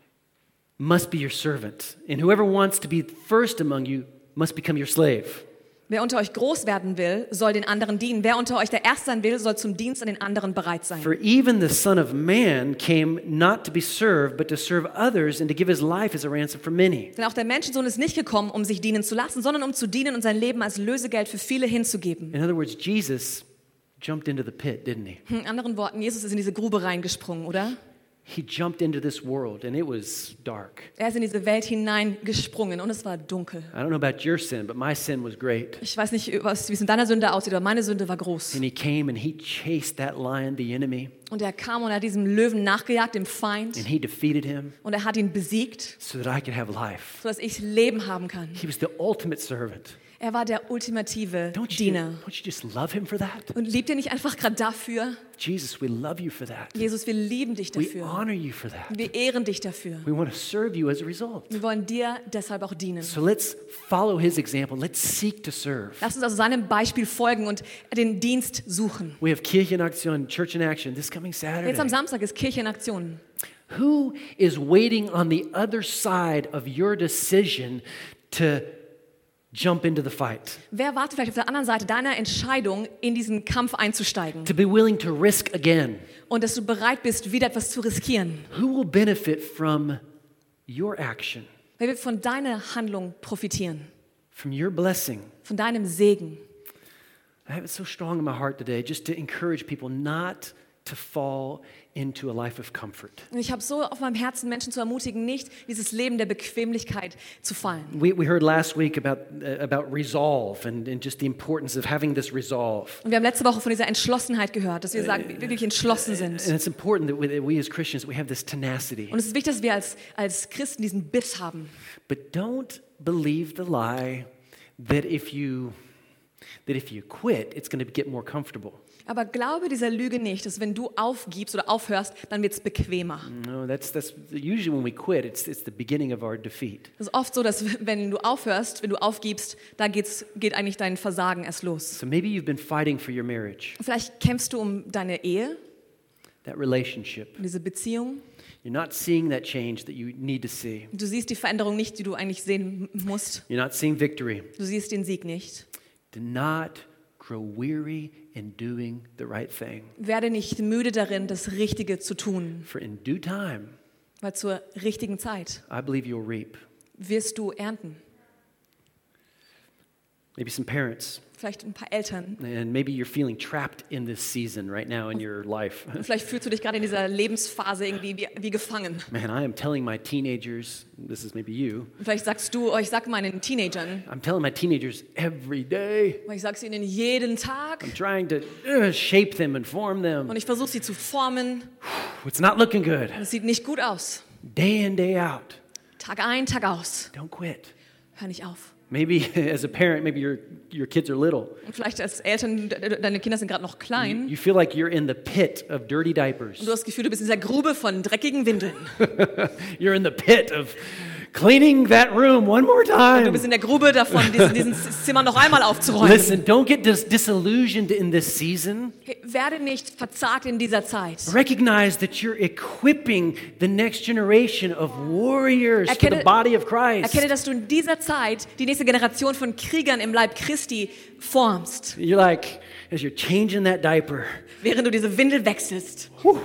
S1: must be your servant, and whoever wants to be first among you must become your slave."
S2: Wer unter euch groß werden will, soll den anderen dienen. Wer unter euch der Erste sein will, soll zum Dienst an den anderen bereit sein.
S1: For even the Son of Man came not to be served, but to serve others and to give his life as a ransom for many.
S2: Denn auch der Menschensohn ist nicht gekommen, um sich dienen zu lassen, sondern um zu dienen und sein Leben als Lösegeld für viele hinzugeben.
S1: In other words, Jesus jumped into the pit, didn't he?
S2: In anderen Worten, Jesus ist in diese Grube reingesprungen, oder?
S1: He jumped into this world and it was dark.
S2: Er ist in diese Welt hineingesprungen und es war dunkel.
S1: I don't know about your sin, but my sin was great.
S2: Ich weiß nicht, was, wie es in deiner Sünde aussieht, aber meine Sünde war groß.
S1: And he came and he chased that lion, the enemy,
S2: Und er kam und er hat diesem Löwen nachgejagt, dem Feind,
S1: and he defeated him
S2: und er hat ihn besiegt,
S1: so that I could have life.
S2: sodass ich Leben haben kann.
S1: He was the ultimate servant.
S2: Er war der ultimative
S1: Don't you,
S2: Diener.
S1: don't you just love him for that?
S2: Und liebt ihr nicht einfach gerade dafür?
S1: Jesus, we love you for that.
S2: Jesus, wir lieben dich
S1: We
S2: dafür.
S1: honor you for that.
S2: Wir ehren dich dafür.
S1: We want to serve you as a result.
S2: Wir wollen dir deshalb auch dienen.
S1: So let's follow his example. Let's seek to serve.
S2: Lass uns also seinem Beispiel folgen und den Dienst suchen.
S1: We have Kirche in Action, Church in Action this coming
S2: Jetzt am
S1: Saturday.
S2: Samstag ist Kirche in Aktion.
S1: Who is waiting on the other side of your decision to jump into the fight?
S2: Wer wartet vielleicht auf der anderen Seite deiner Entscheidung, in diesen Kampf einzusteigen?
S1: To be willing to risk again?
S2: Und dass du bereit bist, wieder etwas zu riskieren?
S1: Who will benefit from your action,
S2: Wer wird von deiner Handlung profitieren?
S1: from your blessing?
S2: Von deinem Segen?
S1: I have it so strong in my heart today just to encourage people not to fall into a life of comfort.
S2: Und ich habe so auf meinem Herzen, Menschen zu ermutigen, nicht dieses Leben der Bequemlichkeit zu fallen.
S1: We, we heard last week about, uh, about resolve and, and just the importance of having this resolve.
S2: Und wir haben letzte Woche von dieser Entschlossenheit gehört, dass wir sagen, wir wirklich entschlossen sind.
S1: And it's important that we, that we as Christians, we have this tenacity.
S2: Und es ist wichtig, dass wir als, als Christen diesen Biss haben.
S1: But don't believe the lie that if you, that if you quit, it's going to get more comfortable.
S2: Aber glaube dieser Lüge nicht, dass wenn du aufgibst oder aufhörst, dann wird es bequemer.
S1: No, that's, that's usually when we quit, it's, it's the beginning of our defeat.
S2: Es ist oft so, dass wenn du aufhörst, wenn du aufgibst, da geht's, geht eigentlich dein Versagen erst los.
S1: So maybe you've been fighting for your marriage,
S2: Vielleicht kämpfst du um deine Ehe,
S1: that relationship.
S2: um diese Beziehung.
S1: You're not seeing that change that you need to see.
S2: Du siehst die Veränderung nicht, die du eigentlich sehen musst.
S1: You're not seeing victory.
S2: Du siehst den Sieg nicht.
S1: Do not grow weary in doing the right thing.
S2: Werde nicht müde darin, das Richtige zu tun,
S1: For in due time,
S2: weil zur richtigen Zeit
S1: I believe you'll reap.
S2: wirst du ernten.
S1: Maybe some parents,
S2: Vielleicht ein paar Eltern.
S1: and maybe you're feeling trapped in this season right now in your life.
S2: Und vielleicht fühlst du dich gerade in dieser Lebensphase irgendwie wie, wie gefangen.
S1: Man, I am telling my teenagers, this is maybe you,
S2: Und vielleicht sagst du, oh, ich sag meinen Teenagern,
S1: I'm telling my teenagers every day,
S2: weil ich sag's ihnen jeden Tag
S1: I'm trying to uh, shape them and form them.
S2: und ich versuche sie zu formen.
S1: It's not looking good.
S2: Und es sieht nicht gut aus.
S1: Day in, day out.
S2: Tag ein, Tag aus.
S1: Don't quit.
S2: Hör nicht auf.
S1: Maybe as a parent, maybe your, your kids are little.
S2: Und vielleicht als Eltern, de- deine Kinder sind gerade noch
S1: You,
S2: klein.
S1: you feel like you're in the pit of dirty diapers.
S2: Und du hast das Gefühl, du bist in dieser Grube von dreckigen Windeln.
S1: You're in the pit of cleaning that room one more
S2: Du
S1: time.
S2: bist in der Grube davon, diesen, diesen Zimmer noch einmal aufzuräumen.
S1: Listen, don't get dis- disillusioned in this season.
S2: Hey, werde nicht verzagt in dieser Zeit.
S1: Recognize that you're equipping the next generation of warriors for the
S2: Erkenne-
S1: body of Christ.
S2: Erkenne, dass du in dieser Zeit die nächste Generation von Kriegern im Leib Christi formst,
S1: You're like, as you're changing that diaper,
S2: während du diese Windel wechselst.
S1: whew,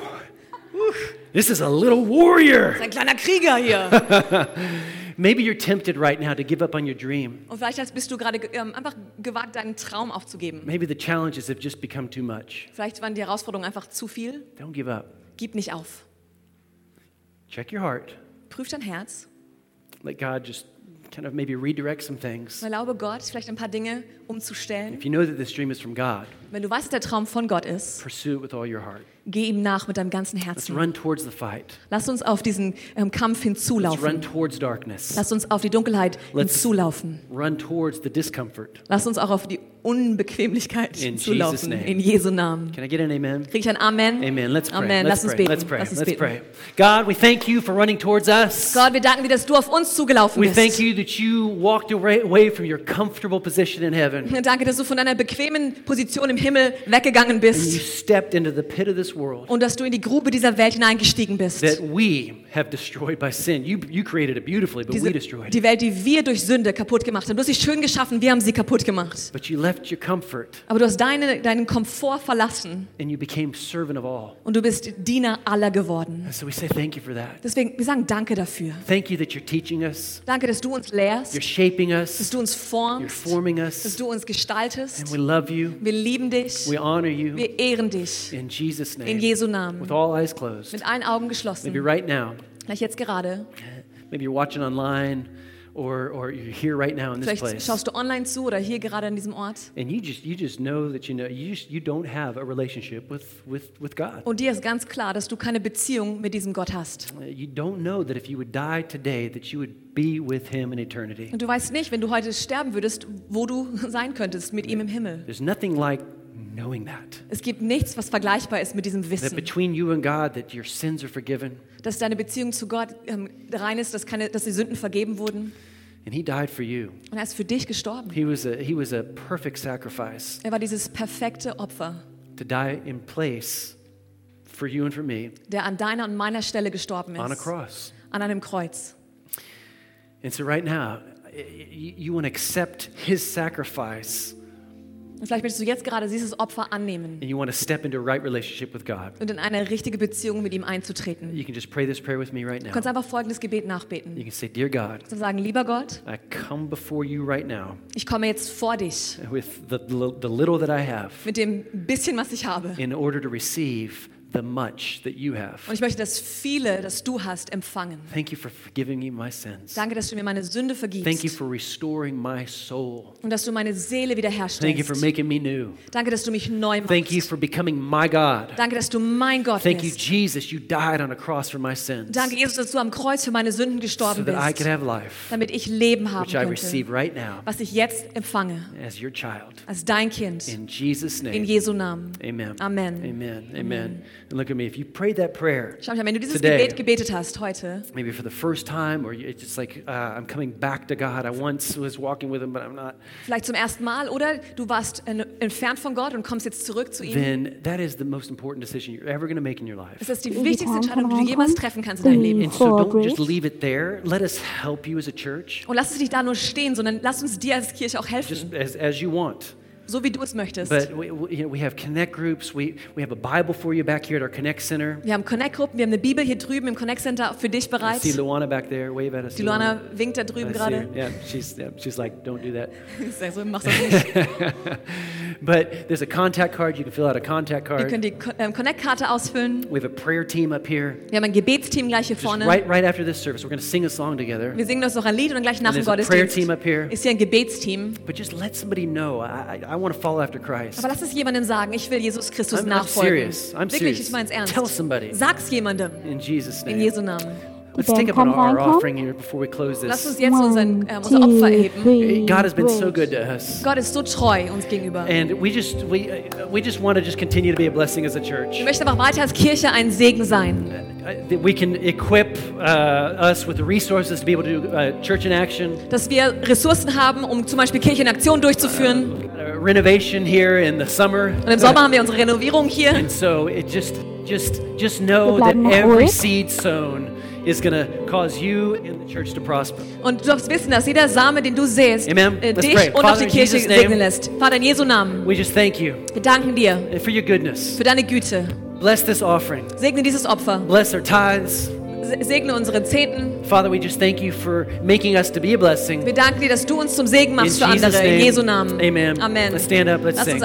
S1: this is a little warrior.
S2: Das ist ein kleiner Krieger hier.
S1: Maybe you're tempted right now to give up on your dream.
S2: Und vielleicht bist du gerade ähm, einfach gewagt, deinen Traum aufzugeben.
S1: Maybe the challenges have just become too much.
S2: Vielleicht waren die Herausforderungen einfach zu viel.
S1: Don't give up.
S2: Gib nicht auf.
S1: Check your heart.
S2: Prüf dein Herz.
S1: Let God just kind of maybe redirect some things.
S2: Erlaube Gott, vielleicht ein paar Dinge umzustellen.
S1: If you know that this dream is from God,
S2: Wenn du weißt, dass der Traum von Gott ist,
S1: pursue it with all your heart.
S2: geh ihm nach mit deinem ganzen
S1: Let's
S2: Herzen.
S1: run towards the fight.
S2: Lass uns auf diesen ähm, Kampf
S1: Let's run
S2: hinzulaufen.
S1: towards darkness.
S2: Lass uns auf die Dunkelheit
S1: Let's-
S2: hinzulaufen.
S1: Run towards the discomfort.
S2: Lass uns auch auf die Unbequemlichkeit
S1: In Jesus'
S2: hinzulaufen.
S1: name.
S2: In Jesu Namen.
S1: Can I get an amen?
S2: Krieg ich ein Amen?
S1: Amen. Let's pray.
S2: Amen.
S1: Let's
S2: Lass uns
S1: pray.
S2: beten.
S1: Let's pray.
S2: Lass uns
S1: Let's
S2: beten.
S1: pray. God, we thank you for running towards us.
S2: Gott, wir danken dir, dass du auf uns zugelaufen
S1: We thank
S2: bist.
S1: you that you walked away away from your comfortable position in heaven.
S2: Danke, dass du von deiner bequemen Position im Himmel weggegangen
S1: And you
S2: bist
S1: stepped into the pit of this world
S2: und dass du in die Grube dieser Welt hineingestiegen bist.
S1: that we have destroyed by sin. You, you created it beautifully, but
S2: Diese,
S1: we destroyed it.
S2: die Welt, die wir durch Sünde kaputt gemacht haben. Du hast sie schön geschaffen, wir haben sie kaputt gemacht.
S1: But you left your comfort
S2: Aber du hast deine, deinen Komfort verlassen
S1: and you became servant of all.
S2: und du bist Diener aller geworden.
S1: And so we say thank you for that.
S2: Deswegen, wir sagen Danke dafür.
S1: Thank you that you're teaching us,
S2: Danke, dass du uns lehrst,
S1: you're shaping
S2: dass
S1: us,
S2: du uns
S1: you're
S2: formst,
S1: forming
S2: dass
S1: us,
S2: du uns gestaltest.
S1: and we love you.
S2: Wir lieben dich,
S1: We honor you
S2: wir ehren dich.
S1: in Jesus'
S2: In
S1: name.
S2: Jesu Namen.
S1: With all eyes closed.
S2: Mit allen Augen
S1: Maybe
S2: geschlossen.
S1: right now,
S2: Vielleicht jetzt gerade.
S1: maybe you're watching online or, or you're here right now in this
S2: Vielleicht
S1: place.
S2: schaust du online zu oder hier gerade an diesem Ort.
S1: And you just you just know that you know you just you don't have a relationship with, with, with God.
S2: Und dir ist ganz klar, dass du keine Beziehung mit diesem Gott hast.
S1: Uh, You don't know that if you would die today that you would be with him in eternity.
S2: Und du weißt nicht, wenn du heute sterben würdest, wo du sein könntest mit ihm im Himmel.
S1: There's nothing like knowing that.
S2: Es gibt nichts, was vergleichbar ist mit diesem
S1: That
S2: Wissen,
S1: between you and God that your sins are forgiven
S2: dass deine Beziehung zu Gott ähm, rein ist, dass, keine, dass die Sünden vergeben wurden.
S1: and he died for you.
S2: Und er ist für dich gestorben.
S1: He was a he was a perfect sacrifice
S2: Er war dieses perfekte Opfer,
S1: to die in place for you and for me
S2: der an deiner und meiner Stelle gestorben
S1: on a
S2: ist.
S1: cross.
S2: An einem Kreuz.
S1: And so right now you, you want to accept his sacrifice
S2: Und vielleicht möchtest du jetzt gerade dieses Opfer annehmen
S1: and you want to step into a right relationship with God.
S2: und in eine richtige Beziehung mit ihm einzutreten.
S1: You can just pray this prayer with me right
S2: Du
S1: now.
S2: kannst einfach folgendes Gebet
S1: You
S2: nachbeten.
S1: can say, Dear God,
S2: Du sagen, lieber Gott,
S1: I come before you right now
S2: ich komme jetzt vor dich
S1: with the, the little that I have
S2: mit dem bisschen, was ich habe,
S1: in order to receive the much that you have.
S2: Und ich möchte das viele, das du hast, empfangen.
S1: Thank you for forgiving me my sins.
S2: Danke, dass du mir meine Sünde vergibst.
S1: Thank you for restoring my soul.
S2: Und dass du meine Seele
S1: Thank you for
S2: wiederherstellst.
S1: making me new.
S2: Danke, dass du mich neu machst.
S1: Thank you for becoming my God.
S2: Danke, dass du mein Gott
S1: Thank you,
S2: bist.
S1: Jesus, you died on a cross for my sins.
S2: Danke, Jesus, dass du am Kreuz für meine Sünden
S1: So
S2: gestorben
S1: that I
S2: bist,
S1: could have life,
S2: damit ich Leben haben
S1: which I receive
S2: könnte,
S1: right now
S2: was ich jetzt empfange,
S1: as your child.
S2: als dein Kind,
S1: In Jesus'
S2: in
S1: name.
S2: Jesu Namen.
S1: Amen.
S2: Amen.
S1: Amen. Amen. And look at me. If you prayed that prayer
S2: Schau mal, wenn du dieses
S1: today,
S2: Gebet gebetet hast heute,
S1: maybe for the first time, or it's just like, uh, I'm coming back to God. I once was walking with Him, but I'm not.
S2: vielleicht zum ersten Mal, oder du warst en- entfernt von Gott und kommst jetzt zurück zu ihm,
S1: Then that is the most important decision you're ever going to make in your life.
S2: ist das die
S3: Die
S2: wichtigste
S3: Gitarren
S2: Entscheidung, die du
S3: können
S2: jemals
S3: reinkommen.
S2: treffen kannst in deinem Leben.
S1: And so
S3: For
S1: don't just
S3: grace.
S1: leave it there. Let us help you as a church,
S2: Und lass es nicht da nur stehen, sondern lass uns dir als Kirche auch helfen,
S1: just as, as you want.
S2: so wie du es möchtest.
S1: But we, we, you know, we have connect groups. We, we have a Bible for you back here at our Connect Center.
S2: Wir haben Connect-Gruppen, wir haben eine Bibel hier drüben im Connect Center für dich
S1: I
S2: bereit.
S1: see Luana back there. Wave at us.
S2: Die Luana winkt da drüben
S1: I see
S2: gerade.
S1: her. Yeah, she's, yeah, she's like, don't do that.
S2: Ich sag so, mach das nicht.
S1: But there's a contact card. You can fill out a contact
S2: Ihr
S1: card.
S2: könnt die Co- ähm, Connect-Karte ausfüllen.
S1: We have a prayer team up here.
S2: Wir haben ein Gebetsteam gleich hier
S1: Just
S2: vorne.
S1: right, right after this service, we're going to sing a song together.
S2: Wir singen uns noch ein Lied und dann gleich nach
S1: And
S2: dem
S1: there's a prayer team
S2: Gottesdienst
S1: up here.
S2: ist hier ein Gebetsteam.
S1: But just let somebody know, I, I, I want to follow after Christ.
S2: Aber lass es jemandem sagen, ich will Jesus Christus
S1: I'm, I'm
S2: nachfolgen.
S1: serious. I'm
S2: Wirklich,
S1: serious.
S2: ich mein's ernst.
S1: Tell somebody
S2: Sag's jemandem
S1: in Jesus'
S2: in
S1: name.
S2: Jesu Namen.
S1: Let's
S3: Band
S1: take up our,
S3: kann
S1: our
S3: reinkommen.
S1: offering here before we close
S2: Lass uns
S1: this.
S2: jetzt unseren, ähm, unser Opfer erheben.
S1: God has been so good to us.
S2: Gott ist so treu uns gegenüber.
S1: And we just we uh, we just want to just continue to be a blessing as a church.
S2: Wir möchten aber weiter als Kirche ein Segen sein.
S1: Uh, that we can equip uh, us with the resources to be able to do uh, church in action,
S2: Dass wir Ressourcen haben, um zum Beispiel Kirche in Aktion durchzuführen.
S1: uh, renovation here in the summer.
S2: Und im Sommer haben wir unsere Renovierung hier.
S1: And so it just just just know
S3: Wir
S1: that
S3: bleiben noch
S1: every
S3: ruhig.
S1: seed sown is going to cause you and the church to prosper.
S2: Und du darfst wissen, dass jeder Same, den du säst,
S1: Amen.
S2: äh,
S1: Let's
S2: dich
S1: pray.
S2: und auch
S1: Father,
S2: die
S1: in
S2: Kirche
S1: Jesus' name.
S2: segnen lässt. Vater, in Jesu Namen,
S1: We just thank you
S2: wir danken dir
S1: for your goodness.
S2: für deine Güte.
S1: Bless this offering.
S2: Segne dieses Opfer.
S1: Bless our tithes.
S2: Se- Segne unsere Zehnten.
S1: Father, we just thank you for making us to be a blessing.
S2: Wir danken dir, dass du uns zum Segen
S1: In
S2: machst für
S1: Jesus'
S2: andere. In
S1: name.
S2: Jesu Namen.
S1: Amen.
S2: Amen.
S1: Let's stand up. Let's
S2: Lass uns
S1: sing.